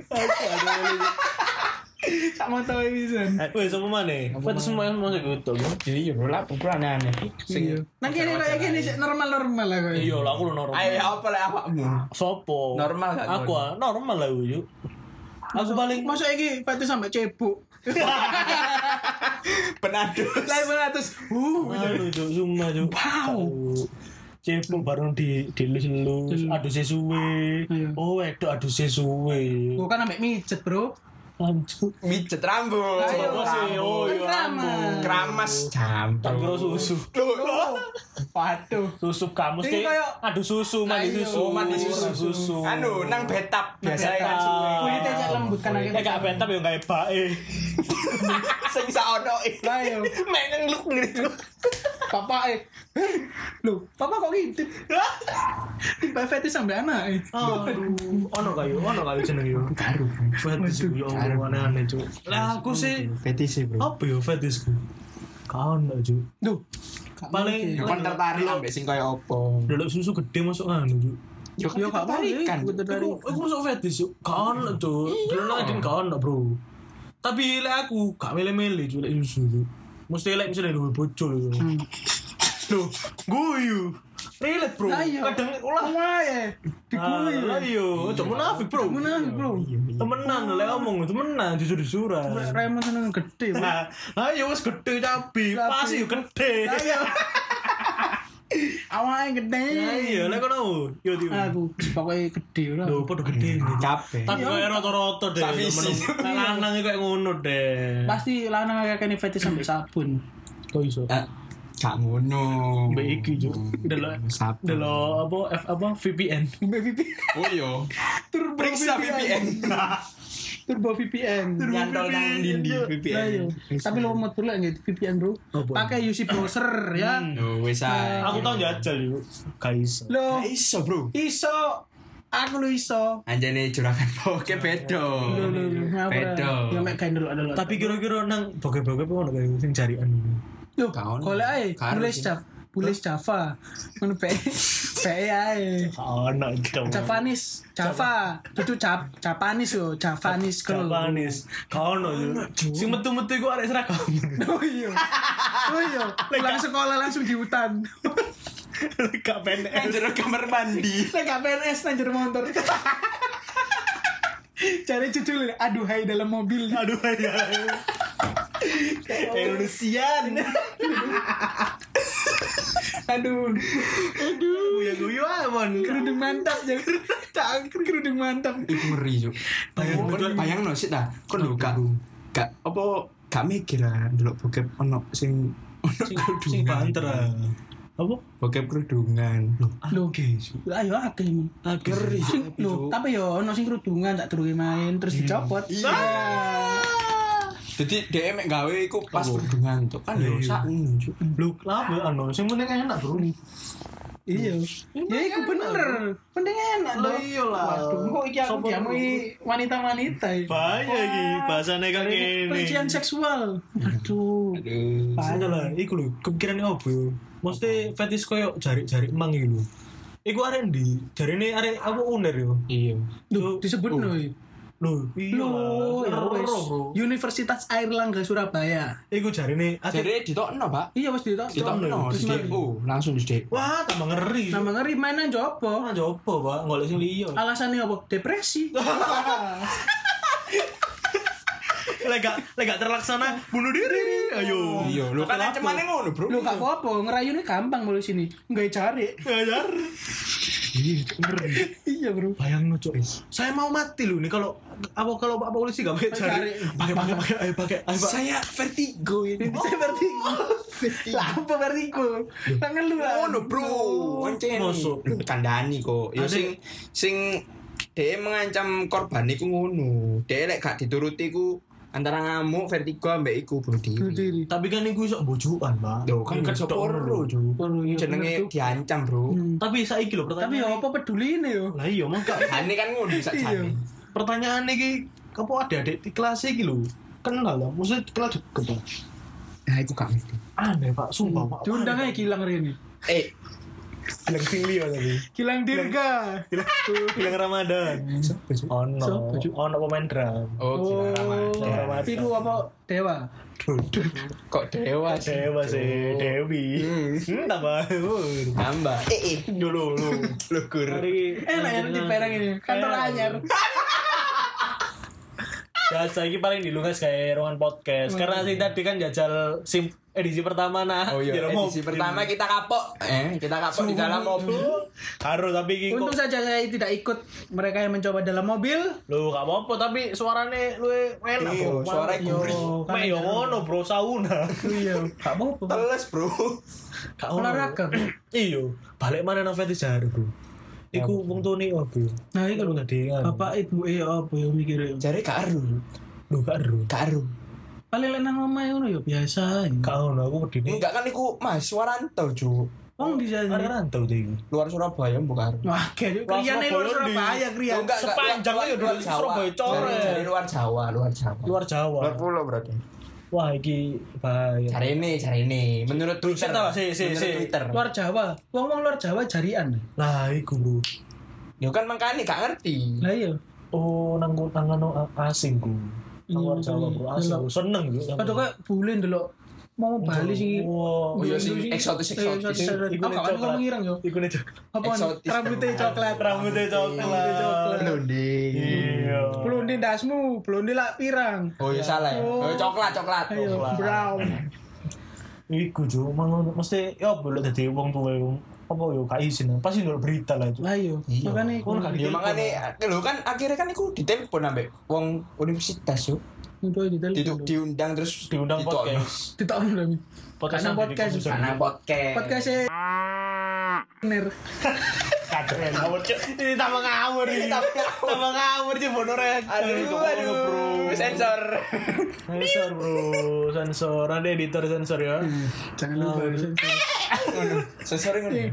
Speaker 2: Sama tau bisa.
Speaker 3: Wes apa maneh? Fetis semua yang mau gitu.
Speaker 4: Iya bro lah pukulan aneh.
Speaker 2: Iya. Nang kene kayak gini sih normal lah kok.
Speaker 3: Iya lah aku lo normal.
Speaker 4: Ayo apa lah awakmu?
Speaker 3: Sopo?
Speaker 4: Normal gak?
Speaker 3: Aku normal lah yuk. Aku paling
Speaker 2: masa iki fetis sampai cebuk.
Speaker 4: Penadus.
Speaker 2: Lah benatus.
Speaker 3: aduh cuk, sumpah cuk.
Speaker 2: Wow.
Speaker 3: Cepung bareng dilus-lus, adu sesuwe. Oh, wedok adu sesuwe.
Speaker 2: Gua kan ambek mijet, Bro.
Speaker 3: Lanjut.
Speaker 4: Mijet rambut.
Speaker 2: Ayo,
Speaker 3: Oh, iya rambut.
Speaker 4: Keramas
Speaker 3: Tak
Speaker 4: campur.
Speaker 3: kira susu.
Speaker 2: Waduh.
Speaker 3: Susu kamu
Speaker 2: Ini
Speaker 3: sih.
Speaker 2: kayak-
Speaker 3: Adu susu, mandi
Speaker 2: Ayo.
Speaker 3: susu.
Speaker 4: Mandi susu. Anu nang betap biasa kan suwe.
Speaker 2: Kulitnya cek lembut kan
Speaker 3: Ya gak bentar ya kayak bae.
Speaker 4: Sing saono
Speaker 2: Lah yo.
Speaker 4: mek ngeluk gitu.
Speaker 2: Bapak Loh, papa kok ngintip? Tiba fetis sampai anak
Speaker 3: Aduh, ono kayu jeneng yo.
Speaker 4: Karo.
Speaker 3: Fetis yo aneh-aneh cuk. Lah aku sih
Speaker 4: Fetis bro.
Speaker 3: apa yo fetisku? Kaon lah cuk.
Speaker 2: Duh.
Speaker 3: Paling
Speaker 4: Kon tertarik ambek sing kaya opo?
Speaker 3: delok susu gede masuk anu cuk.
Speaker 4: Yo
Speaker 2: Yo gak
Speaker 4: tertarikan.
Speaker 3: Aku masuk fetish yuk. Kaon lah cuk. Delok lagi kaon lah bro. Tapi lek aku gak milih-milih cuk lek susu cuk. Mesti lek misalnya duwe bojo lho. Loh, guyu. Relate bro.
Speaker 2: Ayo.
Speaker 3: Kadang ulah
Speaker 2: wae. Dikuyu.
Speaker 3: Lah yo, ojo munafik bro.
Speaker 2: Munafik, Bro.
Speaker 3: Temenan lek ngomong temenan jujur-jujuran.
Speaker 2: Raymond seneng gede, Bro.
Speaker 3: Nah, ayo wis gede cabi, pas yo gede.
Speaker 2: Ayo. Awake gede.
Speaker 3: Ayo lek kono. Yo di.
Speaker 2: Aku pokoknya gede ora.
Speaker 3: Lho, padha gede.
Speaker 4: Capek.
Speaker 3: Tapi kok rata-rata deh.
Speaker 4: Sak visi.
Speaker 3: Lanang kayak ngono deh.
Speaker 2: Pasti lanang kayak kene fetis sampai sabun.
Speaker 3: Kok iso?
Speaker 4: Gak ngono.
Speaker 3: Mbak iki juk. Delok apa VPN.
Speaker 4: Oh iya. Periksa VPN.
Speaker 2: Turbo VPN.
Speaker 4: Nyantol nang dindi
Speaker 2: Ayo.
Speaker 4: VPN.
Speaker 2: Tapi lo mau tuh gitu VPN, Bro. Pakai UC browser ya.
Speaker 4: Oh wis ae.
Speaker 3: Aku tau jajal yuk. Gak iso.
Speaker 2: Lo
Speaker 4: Iso, Bro.
Speaker 2: iso. Aku lo iso.
Speaker 4: Anjane juragan poke bedo. Bedo.
Speaker 2: Ya mek gawe dulu.
Speaker 3: Tapi kira-kira nang bokep-bokep ono kayak sing carian.
Speaker 2: Loh,
Speaker 4: Kaon.
Speaker 2: golek ae. Tulis Java. Ngono pe. Pe ae.
Speaker 3: Ono gitu.
Speaker 2: Java. Dudu Japanis yo, Javanis kalau.
Speaker 3: Japanis. Ono yuk. Sing metu-metu iku arek seragam.
Speaker 2: Oh iya. Pulang sekolah langsung di hutan.
Speaker 3: Gak PNS.
Speaker 4: Nang jero kamar mandi.
Speaker 2: Nek gak PNS nang jero motor. Cari judul aduhai dalam mobil.
Speaker 3: Aduh ya. Indonesian.
Speaker 2: Aduh.
Speaker 3: Guyu amon.
Speaker 2: Kerudung mantap ya. Kerudung mantap.
Speaker 4: Iku ngeri, Cuk. Bayangno sik ta. Kon lho gak apa gak mikir ah ndelok bokep ono sing
Speaker 3: Sing banter. Apa?
Speaker 4: bokep kerudungan.
Speaker 2: Loh, ayo akeh.
Speaker 4: Ngeri.
Speaker 2: Loh, tapi yo ono sing kerudungan tak durunge main terus dicopot.
Speaker 4: Iya. Jadi dia mek gawe iku pas kerudungan tuh kan yo sak ngono, Cuk.
Speaker 3: Lu kenapa anu? Sing penting enak, Bro.
Speaker 2: Iya. Ya iku bener. Penting enak
Speaker 3: Lah
Speaker 2: loh.
Speaker 3: iya lah.
Speaker 2: Waduh, kok iki aku
Speaker 3: Sopo
Speaker 2: diamui wanita-wanita.
Speaker 3: Bahaya iki bahasane kok ngene.
Speaker 2: Pelecehan seksual. Aduh.
Speaker 4: Aduh.
Speaker 3: Bahaya lah, iku lho, kepikiran opo yo. Mesti fetish koyo jari-jari emang iki lho. Iku arek ndi? Jarine arek apa uner yo.
Speaker 4: Iya.
Speaker 2: Duh, disebut no.
Speaker 3: Lho, iya
Speaker 2: Loh, ya
Speaker 3: lah.
Speaker 2: wes.
Speaker 3: Bro.
Speaker 2: Universitas Airlangga Surabaya.
Speaker 3: Iku jarine
Speaker 4: Jadi ditokno, Pak.
Speaker 2: Iya, wes ditok.
Speaker 4: Ditokno di DO, langsung di DO.
Speaker 3: wah, tambah ngeri.
Speaker 2: Nama ngeri mainan jopo.
Speaker 3: Nah, coba, Pak, golek sing liya.
Speaker 2: Alasannya apa? Depresi.
Speaker 3: Lek gak terlaksana bunuh diri. Ayo.
Speaker 4: Iya, lu kan ancamane ngono, Bro.
Speaker 2: Lu gak apa-apa, ngerayune gampang mulai sini. Enggak cari.
Speaker 3: Ngajar.
Speaker 2: Iya, Bro.
Speaker 3: Bayang cok. Saya mau mati lu nih kalau Pak polisi gak pakai jari. Pakai ayo Pak.
Speaker 4: Saya vertigo ini.
Speaker 2: Saya vertigo. Lah apa vertigo? Tangan lu lah.
Speaker 4: Ngono, Bro. Oncen.
Speaker 3: Masuk.
Speaker 4: Kandhani kok. Ya sing dia mengancam korban iku ngono. Dia lek gak dituruti iku antara ngamuk, vertigo ambek iku bunuh diri.
Speaker 3: Tapi kan iku iso bojokan, Pak.
Speaker 4: Loh, kan
Speaker 3: Iku
Speaker 4: iso
Speaker 3: ketok
Speaker 4: poro,
Speaker 3: ngono.
Speaker 4: Cuk. Jenenge diancam, Bro.
Speaker 3: Tapi saiki lho
Speaker 2: Tapi ya
Speaker 3: pertanyaan.
Speaker 2: apa peduli ini yo?
Speaker 3: Lah iya mangga.
Speaker 4: Ane kan ngono sak jane.
Speaker 3: Pertanyaan iki apa adik-adik di kelas iki lho. kenal lah, maksudnya kenal deket lah.
Speaker 4: Nah, aku gak ngerti.
Speaker 3: Aneh Pak, sumpah Pak.
Speaker 2: Diundang aja Gilang Rene.
Speaker 3: Gilang Tingli tadi.
Speaker 2: Gilang Dirga.
Speaker 3: Gilang Ramadan. Ono pemain drum.
Speaker 4: Oh, Gilang Ramadan.
Speaker 2: Itu apa Dewa?
Speaker 4: Kok dewa sih?
Speaker 3: Dewa sih, Dewi. Tambah.
Speaker 4: Nambah.
Speaker 3: Dulu.
Speaker 4: Lugur.
Speaker 2: Enak ya di Perang ini. Kantor anyar.
Speaker 3: Biasa ini paling dilungas kayak ruangan podcast. Karena sih tadi kan jajal edisi pertama
Speaker 4: Oh iya, edisi pertama kita kapok. Kita kapok di dalam mobil.
Speaker 3: Harus tapi
Speaker 2: Untung saja saya tidak ikut mereka yang mencoba dalam mobil.
Speaker 3: lu gak apa-apa tapi suarane lu enak bro.
Speaker 4: Suaranya gurih.
Speaker 3: Mek yo ngono bro sauna.
Speaker 2: Iya, gak apa-apa.
Speaker 4: Teles, Bro.
Speaker 3: Gak ono.
Speaker 2: Olahraga.
Speaker 3: Iya, balik mana nang fetish jare bro. Iku wong tune opo?
Speaker 2: Nah, itu
Speaker 3: Lu tadi kan.
Speaker 2: bapak ibu apa ya mikir.
Speaker 4: Jare gak aru.
Speaker 3: Lu gak ero.
Speaker 4: Gak aru.
Speaker 2: Paling lek nang omah ngono ya biasa.
Speaker 3: Gak ono aku wedine.
Speaker 4: Enggak kan iku mahasiswa rantau, Cuk.
Speaker 2: Wong di sana.
Speaker 3: Ada rantau tuh iku.
Speaker 4: Luar Surabaya bukan.
Speaker 2: Wah, kayak kriane luar Surabaya krian.
Speaker 4: Enggak,
Speaker 3: Sepanjang aja
Speaker 4: luar
Speaker 3: dari
Speaker 4: Jawa.
Speaker 3: Surabaya coret.
Speaker 4: Dari luar Jawa.
Speaker 3: Luar Jawa.
Speaker 4: Luar pulau berarti.
Speaker 3: Wah, iki bahaya.
Speaker 4: Cari ini. Menurut Twitter.
Speaker 3: Menurut
Speaker 4: Twitter.
Speaker 2: Luar Jawa. Wong luar Jawa jarian.
Speaker 3: Lah iku bro.
Speaker 4: Ya kan makanya gak ngerti.
Speaker 2: Lah iya.
Speaker 3: Oh, nang asing ku. Nang luar Jawa bro, asing.
Speaker 2: Delok.
Speaker 3: Seneng yo.
Speaker 2: Padahal kayak bulen delok mau Bali sih.
Speaker 3: Wow.
Speaker 4: Oh iya sing eksotis.
Speaker 2: Iku kan ngomong ireng yo.
Speaker 3: Iku nih.
Speaker 2: Apa
Speaker 4: Eksotis.
Speaker 2: rambutnya coklat.
Speaker 3: Rambutnya coklat.
Speaker 4: Blondin.
Speaker 3: Iya.
Speaker 2: Blondin dasmu, blondin lak pirang.
Speaker 4: Oh iya salah ya. Oh coklat.
Speaker 2: Ayo, brown.
Speaker 3: Iku jo, mesti ya boleh dadi wong tuwa wong apa yo gak izin. Pasti ndelok berita lah itu.
Speaker 2: Lah iya.
Speaker 4: Iya.
Speaker 2: Makane
Speaker 3: Kon gak
Speaker 4: Ya
Speaker 3: ditelepon.
Speaker 4: makanya lho kan akhirnya kan iku ditelepon ambek wong universitas yo. Diundang terus
Speaker 3: Diundang
Speaker 4: ditolak.
Speaker 3: podcast.
Speaker 2: Ditokno lho.
Speaker 3: Podcast
Speaker 2: Karena podcast.
Speaker 4: Karena podcast.
Speaker 2: Podcast bener.
Speaker 3: Kadren ngawur cuk. Ini tambah ngawur ini. Tambah ngawur cuk bonorek.
Speaker 4: Aduh, sensor.
Speaker 3: Sensor bro, sensor. Ada editor sensor ya.
Speaker 2: Jangan lupa
Speaker 4: Sensor ngono.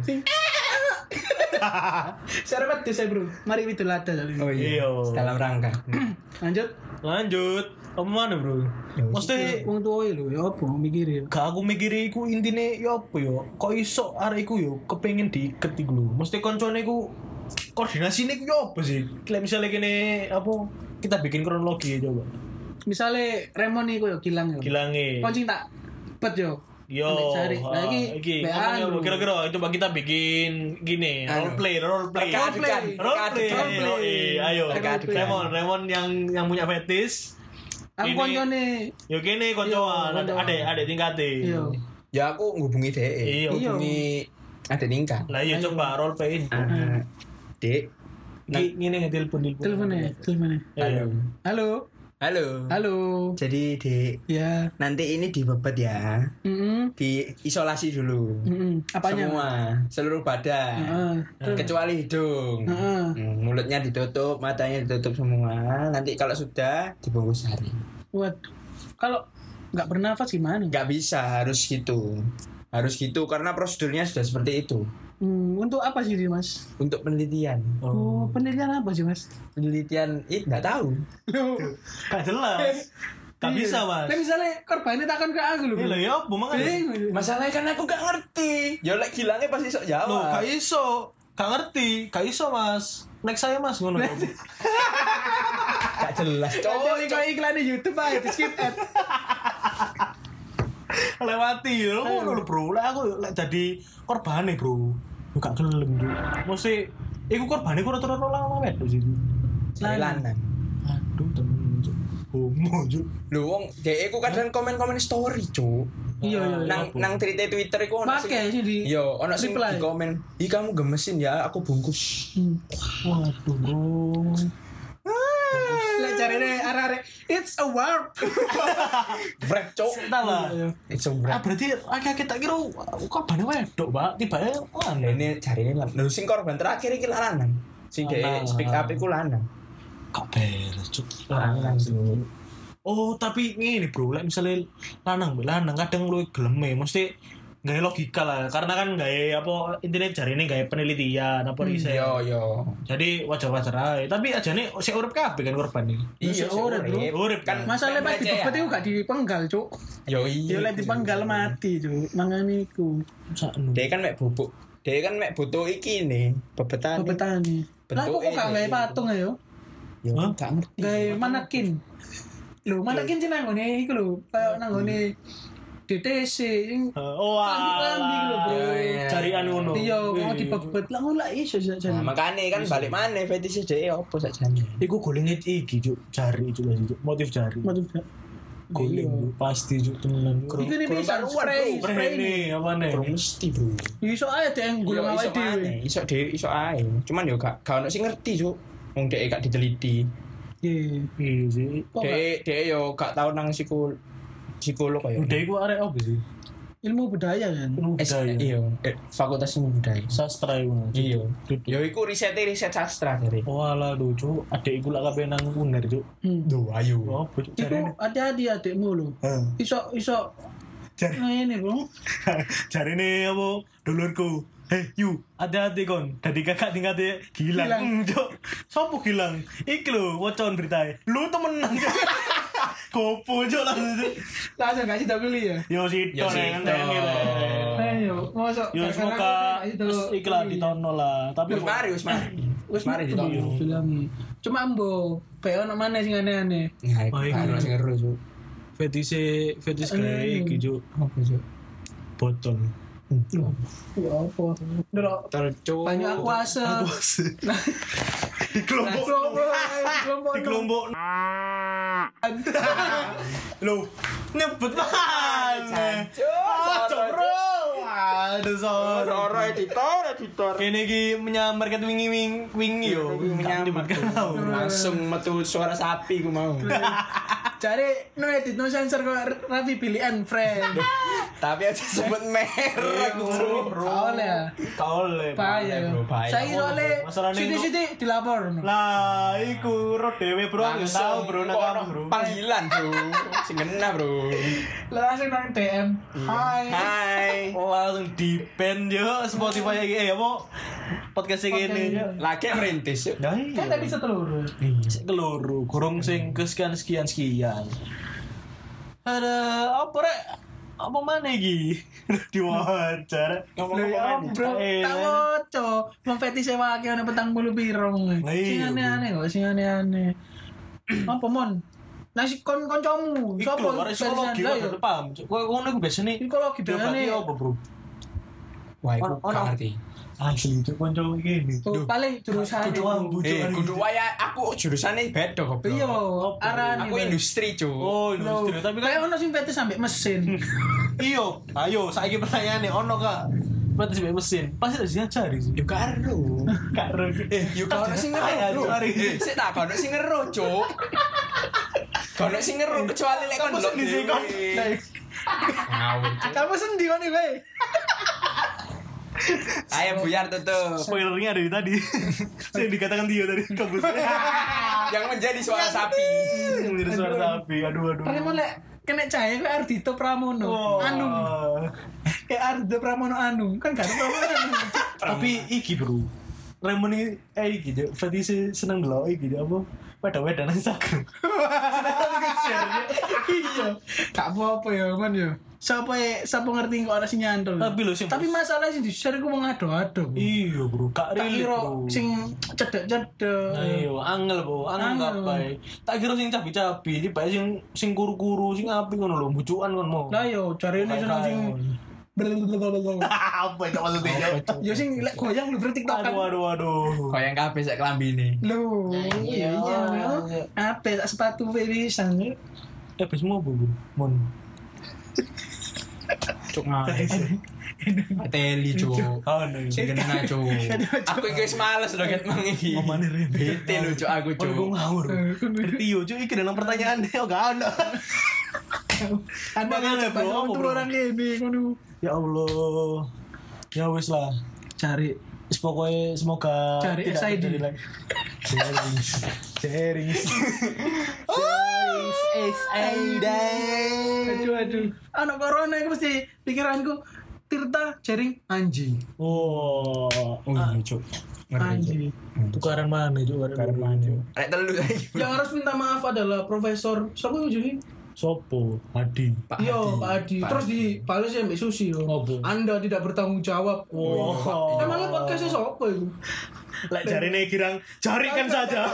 Speaker 2: Syarat tuh saya bro. Mari itu lada kali.
Speaker 4: Oh iya.
Speaker 3: Iya.
Speaker 4: Dalam rangka.
Speaker 2: Lanjut.
Speaker 3: Lanjut. Apa mana bro? Mesti
Speaker 2: Wong tua lho ya apa mikir ya.
Speaker 3: gak aku mikir iku intine ya apa ya? Kok iso arek iku yo kepengin diiket iku lho. Mesti koncone iku koordinasine iku ya apa sih? Kayak misalnya kene apa kita bikin kronologi ya coba.
Speaker 2: Misalnya Remon iku yo kilang yo.
Speaker 3: Gilange.
Speaker 2: Koncing tak bet yo.
Speaker 3: Yo,
Speaker 2: Ambek Cari. Nah, iki
Speaker 3: ngomongnya
Speaker 2: anu.
Speaker 3: kira-kira coba kita bikin gini,
Speaker 4: Anu.
Speaker 3: role play.
Speaker 4: Reka-adegan.
Speaker 3: Ayo.
Speaker 2: Reka-adegan.
Speaker 3: Remon yang punya fetish.
Speaker 2: Aku
Speaker 3: Ini-
Speaker 2: koncone.
Speaker 3: Yo kene koncoan,
Speaker 2: Iya, koncoan.
Speaker 3: ada tingkate.
Speaker 2: Iya.
Speaker 4: Ya aku ngubungi DE.
Speaker 3: Iya.
Speaker 4: Ngubungi ada tingkat.
Speaker 3: Lah iya coba role play.
Speaker 4: Dek.
Speaker 3: Ngene ngetelepon
Speaker 2: Teleponnya.
Speaker 3: Ayo.
Speaker 2: Halo.
Speaker 4: Halo.
Speaker 2: Halo.
Speaker 4: Jadi Dek,
Speaker 2: Ya.
Speaker 4: nanti ini dibebet ya. Diisolasi dulu.
Speaker 2: Apanya?
Speaker 4: Semua, seluruh badan.
Speaker 2: Heeh.
Speaker 4: Kecuali hidung.
Speaker 2: Heeh.
Speaker 4: Mulutnya ditutup, matanya ditutup semua. Nanti kalau sudah dibungkus hari.
Speaker 2: Waduh. Kalau nggak bernafas gimana?
Speaker 4: Nggak bisa, harus gitu. Harus gitu karena prosedurnya sudah seperti itu.
Speaker 2: Untuk apa sih Mas?
Speaker 4: Untuk penelitian.
Speaker 2: Oh, penelitian apa sih Mas?
Speaker 4: Penelitian nggak tahu.
Speaker 2: Loh.
Speaker 3: Gak jelas. Gak
Speaker 2: Iya.
Speaker 3: bisa, Mas.
Speaker 2: Nah, misalnya korbannya takkan ke aku loh.
Speaker 3: Iya lah ya, apa mangan?
Speaker 4: Masalahnya kan aku nggak ngerti. Ya lek gilangnya pasti sok
Speaker 3: Loh,
Speaker 4: jawab.
Speaker 3: gak iso. Gak ngerti. Gak iso, Mas. Next saya, Mas, ngono.
Speaker 4: Gak jelas.
Speaker 2: Cowok iklan di YouTube aja, di skip ad.
Speaker 3: Lewati lho ngono lho, Bro. Lek aku lek dadi korbane, Bro. Yo gak gelem, Bro. Mesti iku korbane ku rata-rata lanang wedok sih.
Speaker 4: Saya lanang.
Speaker 3: Aduh, temen. Cuk. Homo, Cuk.
Speaker 4: Lho wong dhek iku kadang komen-komen story, Cuk.
Speaker 2: Iya.
Speaker 4: Nang tweet Twitter iku ono
Speaker 2: Pakai sih di.
Speaker 4: Iya, ono sing
Speaker 2: reply.
Speaker 4: di komen, "Ih kamu gemesin ya, aku bungkus."
Speaker 3: Waduh, Bro.
Speaker 2: Lek carane arek-arek it's a warp.
Speaker 4: Brek, Cuk.
Speaker 3: Entah lah.
Speaker 4: It's a
Speaker 3: Ah,
Speaker 4: wrap.
Speaker 3: berarti akhirnya kita kira korbane wedok, Pak. Tiba-tiba lanang.
Speaker 4: Ini cari ini lho sing korban terakhir iki lanang. Sing dhek
Speaker 3: Lanang.
Speaker 4: speak up iku lanang.
Speaker 3: Gak beres, Cuk.
Speaker 4: Lanang, Cuk.
Speaker 3: Oh, tapi ngene, Bro. Lek misalnya lanang kadang lu geleme, mesti Gaya logika lah, karena kan gaya apa intinya jari ini gaya penelitian apa riset.
Speaker 4: Yo.
Speaker 3: Jadi wajar-wajar aja. Tapi aja nih si urip kabeh kan korban nih.
Speaker 4: Iya,
Speaker 2: urip, bro.
Speaker 3: Urip kan.
Speaker 2: Masalahnya pas dibebet itu gak dipenggal, Cuk.
Speaker 4: Yo iya.
Speaker 2: Yo lek dipenggal mati, Cuk. Mangane iku.
Speaker 3: Sakno.
Speaker 4: Dia kan mek bubuk. Dia kan mek butuh iki nih, bebetan.
Speaker 2: Bebetane. Lah kok gak gawe patung ayo?
Speaker 4: Yo gak ngerti.
Speaker 2: Gawe manekin. Lho, manekin sing nang ngene iku lho, kayak nang ngene DTC sing lambi lho, Bro.
Speaker 3: Carian ngono.
Speaker 2: Iya, mau dibebet lah ngono lah iso
Speaker 4: Nah,
Speaker 2: jan.
Speaker 4: makanya kan balik mana fetish dhek opo sakjane.
Speaker 3: Iku goleng iki Cuk, jari Cuk, motif jari. Goleng pasti Cuk temenan.
Speaker 2: Iku nih bisa spray
Speaker 3: Spray apa nih?
Speaker 4: Bro mesti, Bro.
Speaker 2: Iso ae deh golong awake dhewe.
Speaker 4: Iso ae. Cuman yo gak ono sing ngerti, Cuk. Wong dhek gak diteliti.
Speaker 2: Iya.
Speaker 3: sih.
Speaker 4: Dhek yo gak tau nang psikolog kaya.
Speaker 3: Udah iku arek opo sih?
Speaker 2: Ilmu budaya kan.
Speaker 4: Iya, fakultas ilmu budaya.
Speaker 3: Sastra iku.
Speaker 4: Iya. Yo iku riset sastra dari.
Speaker 3: Walah lho Cuk, adek iku lak kabeh nang UNER Cuk.
Speaker 4: Duh, ayo.
Speaker 3: Opo Cuk?
Speaker 2: Iku hati-hati adekmu lho. Iso
Speaker 3: Jari.
Speaker 2: ngene, Bro.
Speaker 3: Jarine apa dulurku. You, hati-hati kon. Dadi kakak tingkate gilang. Cuk. Sopo gilang? Iki lho wocon beritae. Lu temenan Cuk. Gopo Cuk langsung.
Speaker 2: Langsung gak sih pilih ya.
Speaker 3: Yo sito nang ngene.
Speaker 2: Ayo, mosok.
Speaker 3: Yo semoga iki lah ditono lah. Tapi
Speaker 4: Wis mari ditono.
Speaker 2: Bilang. Cuma mbo, kayak ono maneh sing aneh-aneh.
Speaker 4: Nah, kan sing ngeru, Cuk.
Speaker 3: fetish kayak iki Cuk.
Speaker 4: Apa, Cuk?
Speaker 3: Botol.
Speaker 2: Ya apa? Ndelok
Speaker 4: Tercuk.
Speaker 2: banyak kuasa.
Speaker 3: Di kelompok. Loh, nyebut mana? Bro. Aduh,
Speaker 4: Soro editor.
Speaker 3: Kene iki menyamarkan wingi yo.
Speaker 4: Langsung metu suara sapi ku mau.
Speaker 2: Cari no edit no sensor kok Raffi pilihan friend.
Speaker 4: Tapi aja sebut merek, Bro.
Speaker 3: Kaole.
Speaker 2: Bahaya. Saya soalnya siti dilapor.
Speaker 3: Lah, iku ro dhewe, Bro. Aku tahu, Bro, nakam, Bro.
Speaker 4: Panggilan, Bro. Sing ngena, Bro.
Speaker 2: Langsung nang DM.
Speaker 4: Hai.
Speaker 3: Langsung di band yo Spotify iki apa podcast iki ngene.
Speaker 4: Lagi merintis, yuk.
Speaker 2: Kan tadi setelur.
Speaker 3: Sik keloro, gorong sing kesekian. Ada apa rek? Apa mana iki? Diwawancara.
Speaker 2: Ngomong bro, tak woco. Wong fetish wae ana 40 piro. Sing aneh-aneh kok, sing aneh-aneh. Apa mon? Nasi kancamu.
Speaker 3: Sopo? Psikologi lho, paham. Kok ngono iku biasane
Speaker 2: psikologi biasane
Speaker 3: apa, Bro?
Speaker 4: Wah, aku gak ngerti.
Speaker 3: Asli itu kanca iki.
Speaker 2: Paling jurusan
Speaker 4: Kudu waya aku jurusane beda kok.
Speaker 2: iya arane
Speaker 4: Aku industri, Cuk.
Speaker 3: Oh, industri. Tapi
Speaker 2: kayak ono sing fetish sampai mesin.
Speaker 3: Iya, ayo saiki pertanyaane ono Kak. Fetish sampai mesin. Pasti harus diajari sih.
Speaker 4: Yo karo.
Speaker 3: Karo.
Speaker 4: Yo karo sing ngeru. Sik tak kono sing ngeru, Cuk. Kono sing ngeru kecuali lek kon
Speaker 3: Kamu sendiri kon.
Speaker 4: Ngawur.
Speaker 2: Kamu sendi kon iki.
Speaker 4: Ayo buyar tutup.
Speaker 3: Spoilernya dari tadi. Saya dikatakan dia tadi kabus.
Speaker 4: Yang menjadi suara sapi.
Speaker 3: Menjadi suara sapi. Aduh.
Speaker 2: Raymond lek kena cahaya kayak Ardhito Pramono. Anung. Kayak Ardhito Pramono Anung. Kan gak ada Pramono.
Speaker 3: Tapi iki, Bro. Raymond ini iki fetish seneng delok iki apa? Weda-weda nang Instagram.
Speaker 2: Iya. Gak apa-apa ya, Man ya. Siapa ngerti kok ana sing nyantol. Tapi masalah sing di-share ku wong ado-ado.
Speaker 3: Iya, Bro. Kak relate, Bro.
Speaker 2: Sing cedek-cedek.
Speaker 3: Ayo, angel, Bro. Angel apa? Tak kira sing cabi-cabi, iki bae sing kuru-kuru, sing apik ngono lho, bujukan kon mau.
Speaker 2: Lah yo jarene seneng sing
Speaker 3: apa itu maksudnya?
Speaker 2: yo sing lek goyang lu TikTok kan.
Speaker 3: Waduh.
Speaker 4: Kok yang kabeh sak klambine.
Speaker 2: Lho, iya. Apa sepatu pisan.
Speaker 3: Habis mau, Bro. Mon.
Speaker 4: Cuk ngawur. Teli, Cuk. Sing kena, Cuk. Aku iki wis males lho ket mang iki.
Speaker 3: Omane rene.
Speaker 4: Bete lho, Cuk, aku, Cuk.
Speaker 3: Aku ngawur. Ngerti yo, Cuk, iki dalam pertanyaan deh gak ada.
Speaker 2: Anda
Speaker 3: Makanya,
Speaker 2: kan
Speaker 3: Bro,
Speaker 2: turun orang ini ngono.
Speaker 3: Ya Allah. Ya wis lah.
Speaker 2: Cari
Speaker 3: Pokoknya semoga
Speaker 2: cari
Speaker 3: tidak
Speaker 2: SID.
Speaker 3: terjadi lagi. Sharing.
Speaker 2: Aduh. Anak corona itu mesti pikiranku. Tirta jaring anjing.
Speaker 3: Oh,
Speaker 4: iya cuk.
Speaker 2: Anjing.
Speaker 3: tukaran mana juga?
Speaker 4: Tukaran mana? Rek telu saiki.
Speaker 2: Yang harus minta maaf adalah Profesor siapa itu jadi?
Speaker 3: Sopo, Adi.
Speaker 2: Iya, Pak Adi. Terus dibalas ya Mbak Susi loh.
Speaker 3: Oh, Bu.
Speaker 2: Anda tidak bertanggung jawab.
Speaker 3: Wow.
Speaker 2: Emangnya podcastnya siapa itu?
Speaker 3: Lek jarine girang, jarikan saja.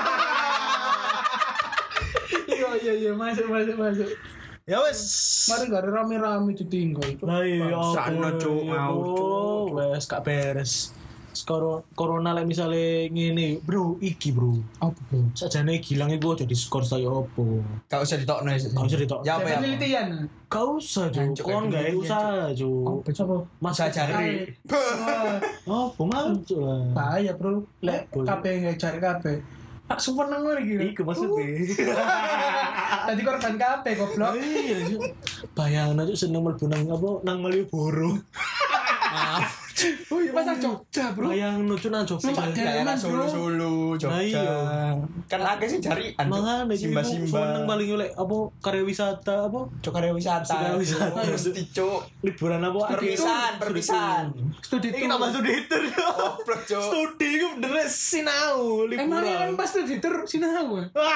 Speaker 2: Iya, masuk.
Speaker 3: Ya wes.
Speaker 2: Mari gak ada rame-rame ditinggal.
Speaker 3: Lah iya,
Speaker 4: Sana, Cuk, mau, Cuk.
Speaker 3: Wes gak beres. Corona lek misale ngene, Bro, iki, Bro.
Speaker 2: Apa bro?
Speaker 3: Sajane gilang iku aja diskor saya opo.
Speaker 4: Gak usah ditokno.
Speaker 3: Gak usah ditokno.
Speaker 4: Ya apa ya?
Speaker 2: Penelitian.
Speaker 3: Gak usah,
Speaker 4: Jancuk,
Speaker 3: Cuk. Kon
Speaker 4: kayak
Speaker 3: gawe
Speaker 4: gini,
Speaker 3: usaha, Cuk.
Speaker 2: Apa coba?
Speaker 3: Masa jari. Oh, pemaju lah.
Speaker 2: Bahaya bro. Lek
Speaker 3: Apa?
Speaker 2: KP nggak cari KP. Tak super nanggur gitu.
Speaker 3: Iku maksudnya.
Speaker 2: Tadi korban KP goblok.
Speaker 3: Iya, Cuk. Bayangno Cuk seneng mlebu nang apa nang Malioboro.
Speaker 4: Maaf.
Speaker 2: Oh iya pasar Jogja bro.
Speaker 3: Bayangno Cuk nang Jogja.
Speaker 2: Numpak
Speaker 4: Daerah
Speaker 2: Delman, bro.
Speaker 4: Solo,
Speaker 3: Nah, iya.
Speaker 4: Jogja. Kan akeh sih jarian.
Speaker 3: Mangane Cuk, seneng
Speaker 4: Simba-simba.
Speaker 3: paling oleh apa karya wisata apa
Speaker 4: Cuk karya wisata.
Speaker 3: Karya wisata.
Speaker 4: Mesti cuk.
Speaker 3: liburan apa
Speaker 4: Perpisahan.
Speaker 2: Studi
Speaker 3: Iki tambah studi tur.
Speaker 4: Goblok cuk.
Speaker 3: Studi iku bener sinau
Speaker 2: Emangnya kan
Speaker 3: liburan.
Speaker 2: pas studi tur sinau.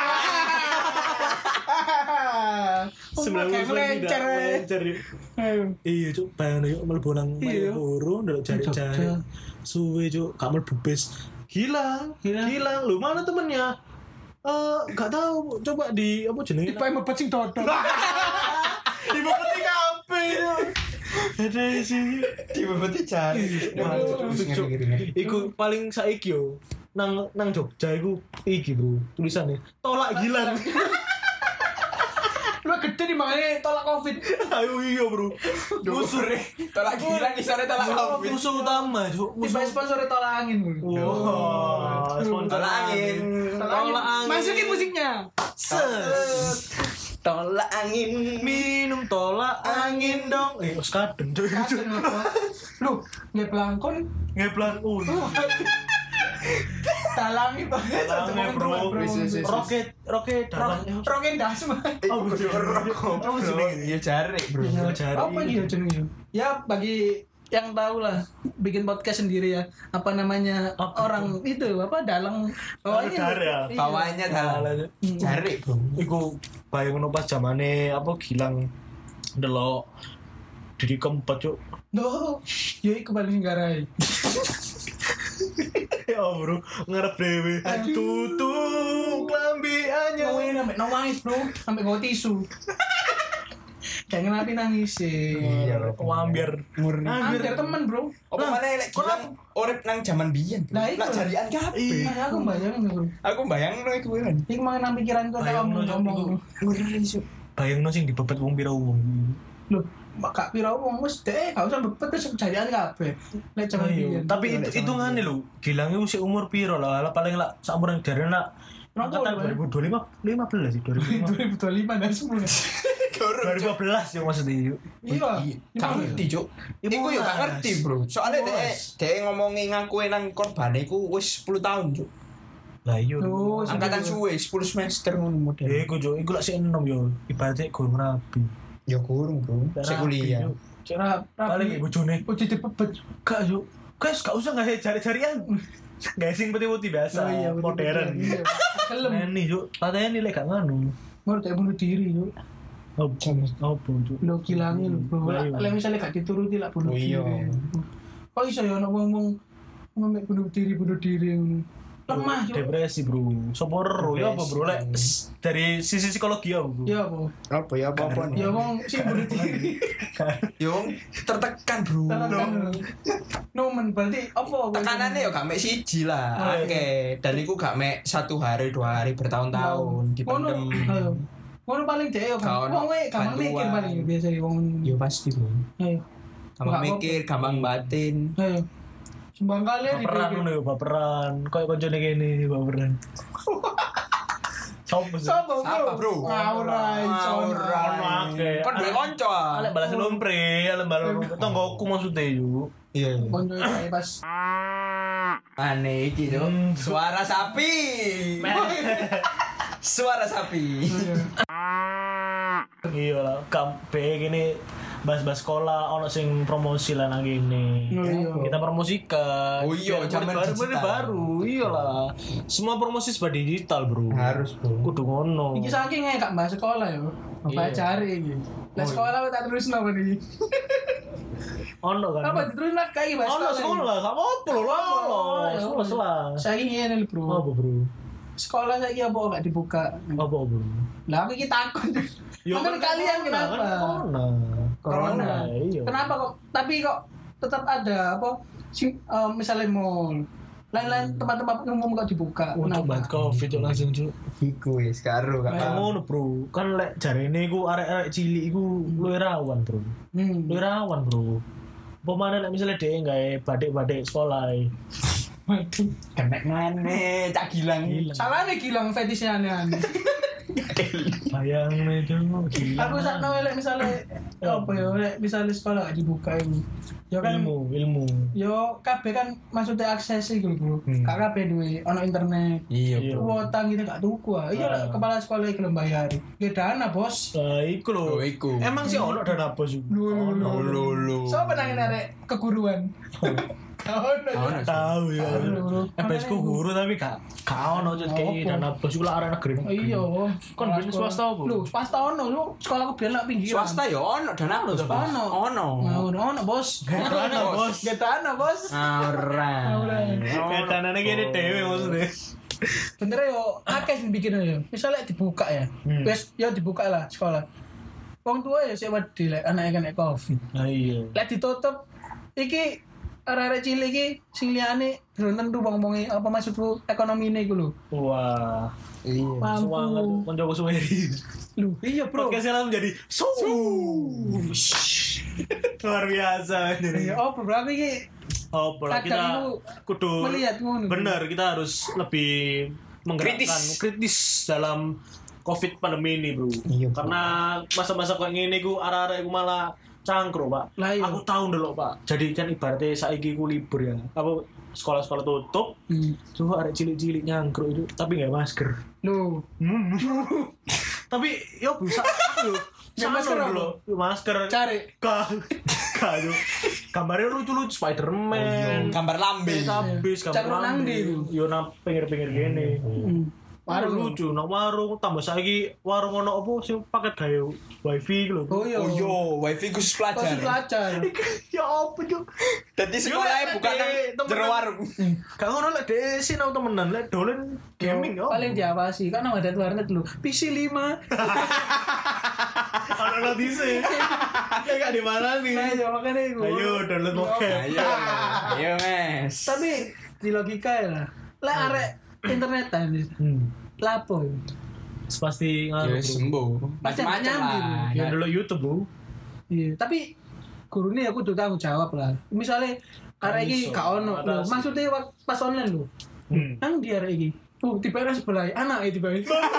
Speaker 3: Melencer. Iya cuk, bayangno yuk mlebu nang
Speaker 2: Iya.
Speaker 3: Malioboro ndelok jari-jari.
Speaker 2: Jogja.
Speaker 3: Suwe cuk, gak mlebu bis. Hilang. Lu mana temennya? Gak tahu. Coba di apa jenenge?
Speaker 2: Tipe mebet sing dodol.
Speaker 3: Di bawah kafe. Ada sih.
Speaker 4: Di bebeti jari.
Speaker 3: Iku paling saiki yo. Nang Jogja iku iki, Bro. Tulisannya tolak gilang.
Speaker 2: Lu gede di makanya tolak covid.
Speaker 3: Ayo iya, Bro. Musuh
Speaker 4: Tolak gila di sana tolak covid.
Speaker 3: musuh utama, Cuk.
Speaker 2: Tipe sponsor tolak angin.
Speaker 3: Wah, sponsor
Speaker 4: Tolak angin.
Speaker 3: Tolak angin.
Speaker 2: Masukin musiknya.
Speaker 3: Ses.
Speaker 4: Tolak angin.
Speaker 3: Minum tolak angin dong. Wes kadeng, Cuk.
Speaker 2: Lu nggak pelangkon.
Speaker 3: Ngeplan
Speaker 2: Talangi banget.
Speaker 3: Talangi, Bro. Roket dalam.
Speaker 2: Roket dasma.
Speaker 3: Oh,
Speaker 4: Iya jari bro.
Speaker 2: Apa gitu jenengnya? Ya bagi yang tahu lah bikin podcast sendiri ya. Apa namanya orang itu apa dalang bawahnya.
Speaker 3: ya.
Speaker 2: Iya.
Speaker 4: Bawahnya dalam. Jari bro.
Speaker 3: Iku bayangno pas zamane apa Gilang delok Didi Kempot, Cuk.
Speaker 2: Duh, ya iku paling garai.
Speaker 3: Ya bro, ngarep dewe. Tutup klambi anyar.
Speaker 2: Ngomongin sampai nangis bro, sampai gue tisu. Kayak ngenapi nangis sih.
Speaker 4: Iya,
Speaker 3: Wambiar.
Speaker 2: Hampir temen bro.
Speaker 4: Apa mana lek Gilang urip nang jaman biyen.
Speaker 2: Lah, itu.
Speaker 4: Lah jarian kabeh.
Speaker 2: Nah, aku bayangin bro.
Speaker 4: Aku bayangno iku kan.
Speaker 2: Iku mau nang pikiran gue tak ngomong.
Speaker 4: Ngeri sih.
Speaker 3: Bayangno sing dibebet wong pira wong.
Speaker 2: Loh, Kak Pira wong wis gak usah bebet wis jadian kabeh. Nek jaman biyen.
Speaker 3: Tapi hitungane lho, Gilang iku sik umur pira lah, paling lah saumuran jarena angkatan 2015 sih, 2015.
Speaker 2: 2025 dan semua.
Speaker 3: 2015 ya maksudnya.
Speaker 2: Iya.
Speaker 4: Gak ngerti cuk. Iku yo gak ngerti bro. Soalnya dhek ngomongi ngaku nang korban iku wis 10 tahun cuk.
Speaker 3: Lah iya.
Speaker 2: Oh,
Speaker 4: Angkatan suwe 10 semester ngono model.
Speaker 3: Iku Cuk, iku lak sik enom yo. Ibaratnya gurung rabi.
Speaker 4: Ya kurang bro. Sik kuliah.
Speaker 2: Cara
Speaker 3: Paling bojone.
Speaker 2: Oh jadi bebet.
Speaker 3: Gak Cuk. Guys, gak usah nggak cari-carian. Gak sing putih-putih biasa, modern.
Speaker 2: Iya. Kelem.
Speaker 3: Nih Cuk, patene lek gak nganu.
Speaker 2: Baru kayak bunuh diri yuk.
Speaker 3: Oh, Cuk.
Speaker 2: Lo kilangin lo bro.
Speaker 3: Iya.
Speaker 2: Lah misalnya gak dituruti lah bunuh
Speaker 4: Oh,
Speaker 2: diri.
Speaker 4: iya.
Speaker 2: Kok iso ya ana wong-wong ngomong bunuh diri lemah yuk.
Speaker 3: Depresi, Bro. Sopo ero ya apa, Bro? Lek dari sisi psikologi ya, Bro.
Speaker 2: Ya apa?
Speaker 4: Apa ya apa
Speaker 2: Ya wong sing bunuh diri.
Speaker 4: Yo tertekan bro.
Speaker 2: Nomen berarti apa?
Speaker 4: Tekanannya ya gak mek siji lah.
Speaker 3: Oh, iya.
Speaker 4: Oke, dan iku gak mek 1 hari 2 hari bertahun-tahun dipendem.
Speaker 2: Ngono paling dhek yo kan. Wong wae gampang mikir paling biasa wong.
Speaker 4: Yo pasti bro.
Speaker 2: Ayo.
Speaker 4: Gampang mikir, gampang batin.
Speaker 2: Ayo. Sumbang kali
Speaker 3: Baperan ngono ya, baperan. Kayak koncone kene baperan. Sopo sih?
Speaker 4: Siapa bro?
Speaker 2: Ngaurai,
Speaker 3: Oke.
Speaker 4: Kan duwe kanca.
Speaker 3: Alek balas lompre, alek balas tonggoku maksudnya yo.
Speaker 4: Iya.
Speaker 2: Konco saya pas.
Speaker 4: Aneh iki yo. Suara sapi. Suara sapi.
Speaker 3: Iya lah, kampe gini bahas sekolah ono sing promosi lah nang kene. Kita promosikan.
Speaker 4: Oh iya, zaman
Speaker 3: baru. Iyalah. Semua promosi serba digital, Bro.
Speaker 4: Harus, Bro.
Speaker 3: Kudu ngono.
Speaker 2: Iki saking gak bahas sekolah ya. Apa cari iki. Lah sekolah tak terus napa iki?
Speaker 3: Ono kan.
Speaker 2: Apa terus nak kayak bahas
Speaker 3: Ono sekolah, gak apa-apa lho. Sekolah.
Speaker 2: Saking ngene lho, Bro.
Speaker 3: Apa, Bro?
Speaker 2: Sekolah saiki apa gak dibuka?
Speaker 3: Apa, Bro?
Speaker 2: Lah aku iki takut. Makanya kalian kenapa? Corona.
Speaker 3: Iya.
Speaker 2: Kenapa kok? Tapi kok tetap ada apa? Misalnya mall, lain-lain tempat-tempat umum kok dibuka.
Speaker 3: Untuk banget Covid yo langsung cuk.
Speaker 4: Iku wis karo
Speaker 3: Kayak
Speaker 4: Kak.
Speaker 3: ngono, Bro. Kan lek jarene iku arek-arek cilik iku luwih rawan, Bro. Luwih rawan, Bro. Pemane lek misale dhek gawe badik-badik sekolah.
Speaker 2: Waduh.
Speaker 4: Kenek ngene, Cak Gilang.
Speaker 2: Salahnya Gilang fetishnya aneh-aneh.
Speaker 3: Bayang itu gila.
Speaker 2: Aku sakno lek misale apa ya lek misale sekolah gak dibuka iku. Ya kan
Speaker 3: ilmu.
Speaker 2: yo kabeh kan maksudnya akses iku lho, Bro. Gak kabeh duwe ono internet.
Speaker 4: Iya,
Speaker 2: Kuota kita gak tuku ah. Iya lah, kepala sekolah iki lho bayar. Ya dana, Bos.
Speaker 3: Iku lho.
Speaker 4: Oh, iku.
Speaker 3: Emang sih ono dana bos iku.
Speaker 4: Lulu.
Speaker 2: Sopo nang arek keguruan?
Speaker 3: Tahu ya. FPS ku guru tapi gak ono jet kayak dana bos iku lah arek negeri.
Speaker 2: Iya.
Speaker 3: Kon bisnis swasta apa?
Speaker 2: Lho, swasta ono lho. Sekolahku biyen lak pinggiran.
Speaker 4: Swasta ya ono dana lho,
Speaker 2: Ono, Bos. Getana, Bos.
Speaker 4: Ora.
Speaker 3: Kayak danane kene dhewe maksudnya.
Speaker 2: Bener yo, akeh sing bikin yo. Misalnya dibuka ya. Wes yo dibuka lah sekolah. Wong tua ya sik wedi lek anake kena Covid.
Speaker 3: Nah iya.
Speaker 2: Lek ditutup iki arek-arek cilik iki sing liyane belum tentu wong-wonge apa maksudku ekonomine iku lho.
Speaker 3: Wah.
Speaker 4: Iya.
Speaker 3: Semangat koncoku suweri.
Speaker 2: Lho, iya, Bro.
Speaker 3: Podcastnya langsung jadi luar biasa.
Speaker 2: Ya apa berarti iki
Speaker 3: Oh, bola kita
Speaker 2: kadang
Speaker 3: kudu
Speaker 2: melihat ngono.
Speaker 3: bener, kita harus lebih menggerakkan kritis dalam Covid pandemi ini, Bro.
Speaker 4: Iya, Bro.
Speaker 3: Karena masa-masa kayak gini ku arah-arah ku malah cangkruk, Pak.
Speaker 2: Lah, iya.
Speaker 3: Aku tahu dulu, Pak. Jadi kan ibaratnya saiki ku libur ya. Apa sekolah-sekolah tutup. Coba arek cilik-cilik nyangkruk itu tapi enggak masker.
Speaker 2: Lho,
Speaker 3: Tapi yo bisa aku.
Speaker 2: Nggak masker
Speaker 3: dulu. Masker.
Speaker 2: cari.
Speaker 3: Kado. Gambarnya lucu-lucu Spider-Man.
Speaker 4: Gambar lambe.
Speaker 3: Habis
Speaker 2: Cak nang ndi iku?
Speaker 3: Yo nang pinggir-pinggir gini. Warung lucu, nang warung tambah saiki warung ono apa sing paket gawe wifi lho.
Speaker 2: Oh iya.
Speaker 4: Oh yo, wifi khusus
Speaker 2: Pasti
Speaker 4: pelajar.
Speaker 2: pelajar.
Speaker 3: Ya apa cuk?
Speaker 4: Dadi sekolahnya bukan nang jero warung.
Speaker 3: Gak ngono lek desi nang temenan lek dolen gaming yo.
Speaker 2: Paling diawasi kan ada warnet lho. PC 5.
Speaker 3: Ono notise. Ya gak di mana nih.
Speaker 2: Nah, ya makanya iku.
Speaker 3: Ayo download bokep.
Speaker 4: Ayo, Mes.
Speaker 2: Tapi di logika ya lah. Lek arek internetan lapo ya.
Speaker 3: Pasti
Speaker 4: Ya
Speaker 3: ngaruh.
Speaker 4: sembuh.
Speaker 2: Pasti
Speaker 4: Macam-macam
Speaker 2: nyambi,
Speaker 4: lah.
Speaker 3: Ya dulu YouTube, Bro.
Speaker 2: Iya, tapi gurune aku tuh tanggung jawab lah. Misalnya arek iki gak ono lho, maksudnya pas online lho. Nang di arek iki. Tiba sebelah anak tiba.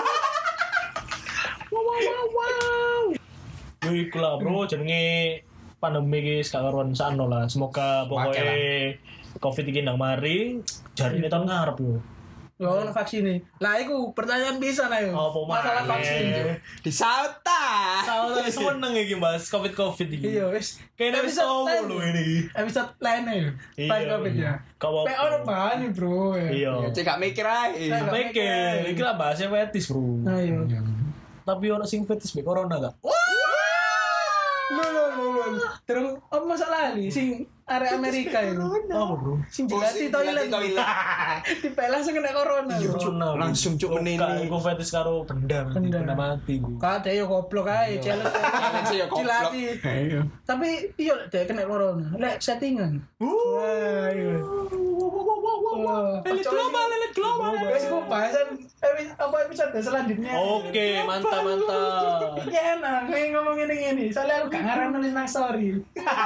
Speaker 2: Wow.
Speaker 3: Yo iku lah, Bro, jenenge pandemi iki sakaruan sakno lah. Semoga pokoknya Covid iki ndang mari, jarine tahun ngarep yo.
Speaker 2: Yo ono vaksin. Lah iku pertanyaan bisa ayo.
Speaker 3: Apa
Speaker 2: Masalah vaksin. Jo.
Speaker 4: Disaut ta.
Speaker 3: Soalnya seneng iki Mas, Covid iki.
Speaker 2: Iya, wis.
Speaker 3: Kayaknya wis tau lho ini.
Speaker 2: Episode lain ya. Pas Covid ya.
Speaker 3: Gak apa-apa.
Speaker 2: Pe ono bahan nih, Bro.
Speaker 3: Iya.
Speaker 4: Cek gak mikir ae.
Speaker 3: Mikir, iki lah bahasnya fetis, Bro.
Speaker 2: Ayo.
Speaker 3: Tapi ono sing fetis be corona gak?
Speaker 2: Lho. Terus apa masalah nih sing area Amerika itu?
Speaker 3: Apa, Bro?
Speaker 2: Sing jilati toilet. Dipel langsung kena corona.
Speaker 4: Langsung cuk menini.
Speaker 3: Iku fetis karo benda mati gue.
Speaker 2: Kade yo goblok ae, challenge
Speaker 4: ya goblok.
Speaker 2: Jilati. Tapi iya lek kena corona, lek settingan. Wah, iya.
Speaker 3: Elit global.
Speaker 2: Wes ku bahasan episode selanjutnya.
Speaker 3: Oke, mantap.
Speaker 2: Iki enak, ngomong ngene. Soalnya aku gak ngarang nulis nang story.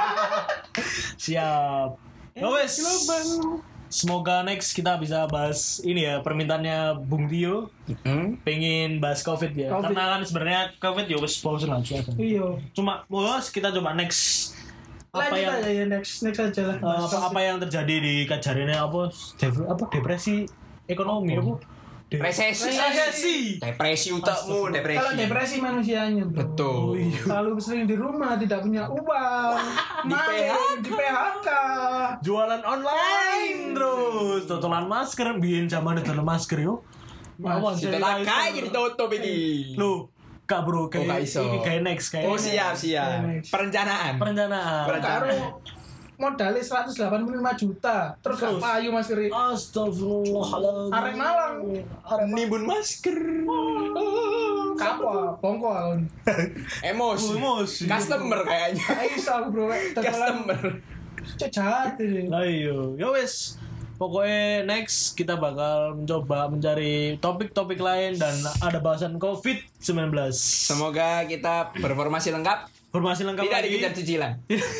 Speaker 3: Siap. Ya wes. Semoga next kita bisa bahas ini ya, permintaannya Bung Tio. Pengen bahas Covid ya.
Speaker 2: Covid.
Speaker 3: Karena kan sebenarnya Covid ya wes pause lah.
Speaker 2: Iya.
Speaker 3: Cuma bos kita coba next apa
Speaker 2: Lanjut
Speaker 3: yang
Speaker 2: aja ya next aja lah.
Speaker 3: apa yang terjadi di Kajarinnya apa depresi ekonomi apa
Speaker 4: Resesi. Depresi utakmu, depresi.
Speaker 2: Kalau depresi manusianya, bro.
Speaker 4: Betul.
Speaker 2: Kalau sering di rumah tidak punya uang, di PHK.
Speaker 3: Jualan online terus, totolan masker, biyen zaman totolan masker yo. Mawon
Speaker 4: Kita tak kayak ditutup ini.
Speaker 3: Lu, Kak bro,
Speaker 4: gak
Speaker 3: kayak
Speaker 4: iso.
Speaker 3: ini kayak next kayak.
Speaker 4: Oh siap. Perencanaan.
Speaker 2: Karo modalnya 185 juta, terus gak payu masker.
Speaker 3: Astagfirullahaladzim.
Speaker 2: Arek Malang,
Speaker 4: Nimbun masker.
Speaker 2: kapal, bongkol.
Speaker 4: Emosi. Customer kayaknya.
Speaker 2: Aisyah bro,
Speaker 4: Customer.
Speaker 2: jahat ini.
Speaker 3: Lah iyo, ya wes. Pokoknya next kita bakal mencoba mencari topik-topik lain dan ada bahasan COVID-19.
Speaker 4: Semoga kita berformasi lengkap.
Speaker 3: Formasi lengkap
Speaker 4: Tidak
Speaker 3: lagi.
Speaker 4: dikejar cicilan.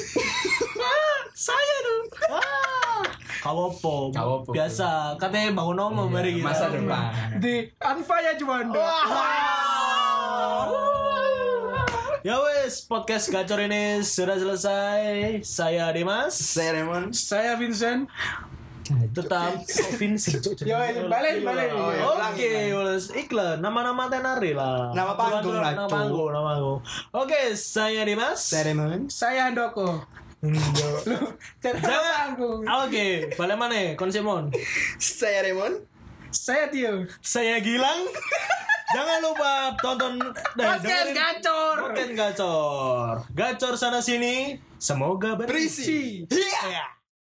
Speaker 3: Saya dong. Kawopo. Biasa. Katanya bangun nomor mari kita.
Speaker 4: Masa depan.
Speaker 2: Di Anfaya Juanda.
Speaker 3: Ya wes, podcast gacor ini sudah selesai. Saya Dimas.
Speaker 4: Saya Raymond.
Speaker 2: Saya Vincent.
Speaker 3: Tetap Vincent.
Speaker 2: Yo, balik.
Speaker 3: Oke, wes iklan. Nama-nama tenari lah.
Speaker 4: Nama panggung lah,
Speaker 3: Nama panggung. Oke, saya Dimas.
Speaker 4: Saya Raymond.
Speaker 2: Saya Handoko.
Speaker 3: Jangan. Oke, balik mana? Konsimon.
Speaker 4: Saya Raymond.
Speaker 2: Saya Tio.
Speaker 3: Saya Gilang. Jangan lupa tonton
Speaker 2: Podcast Gacor.
Speaker 3: Podcast Gacor. Gacor sana sini. Semoga berisi.
Speaker 4: Iya.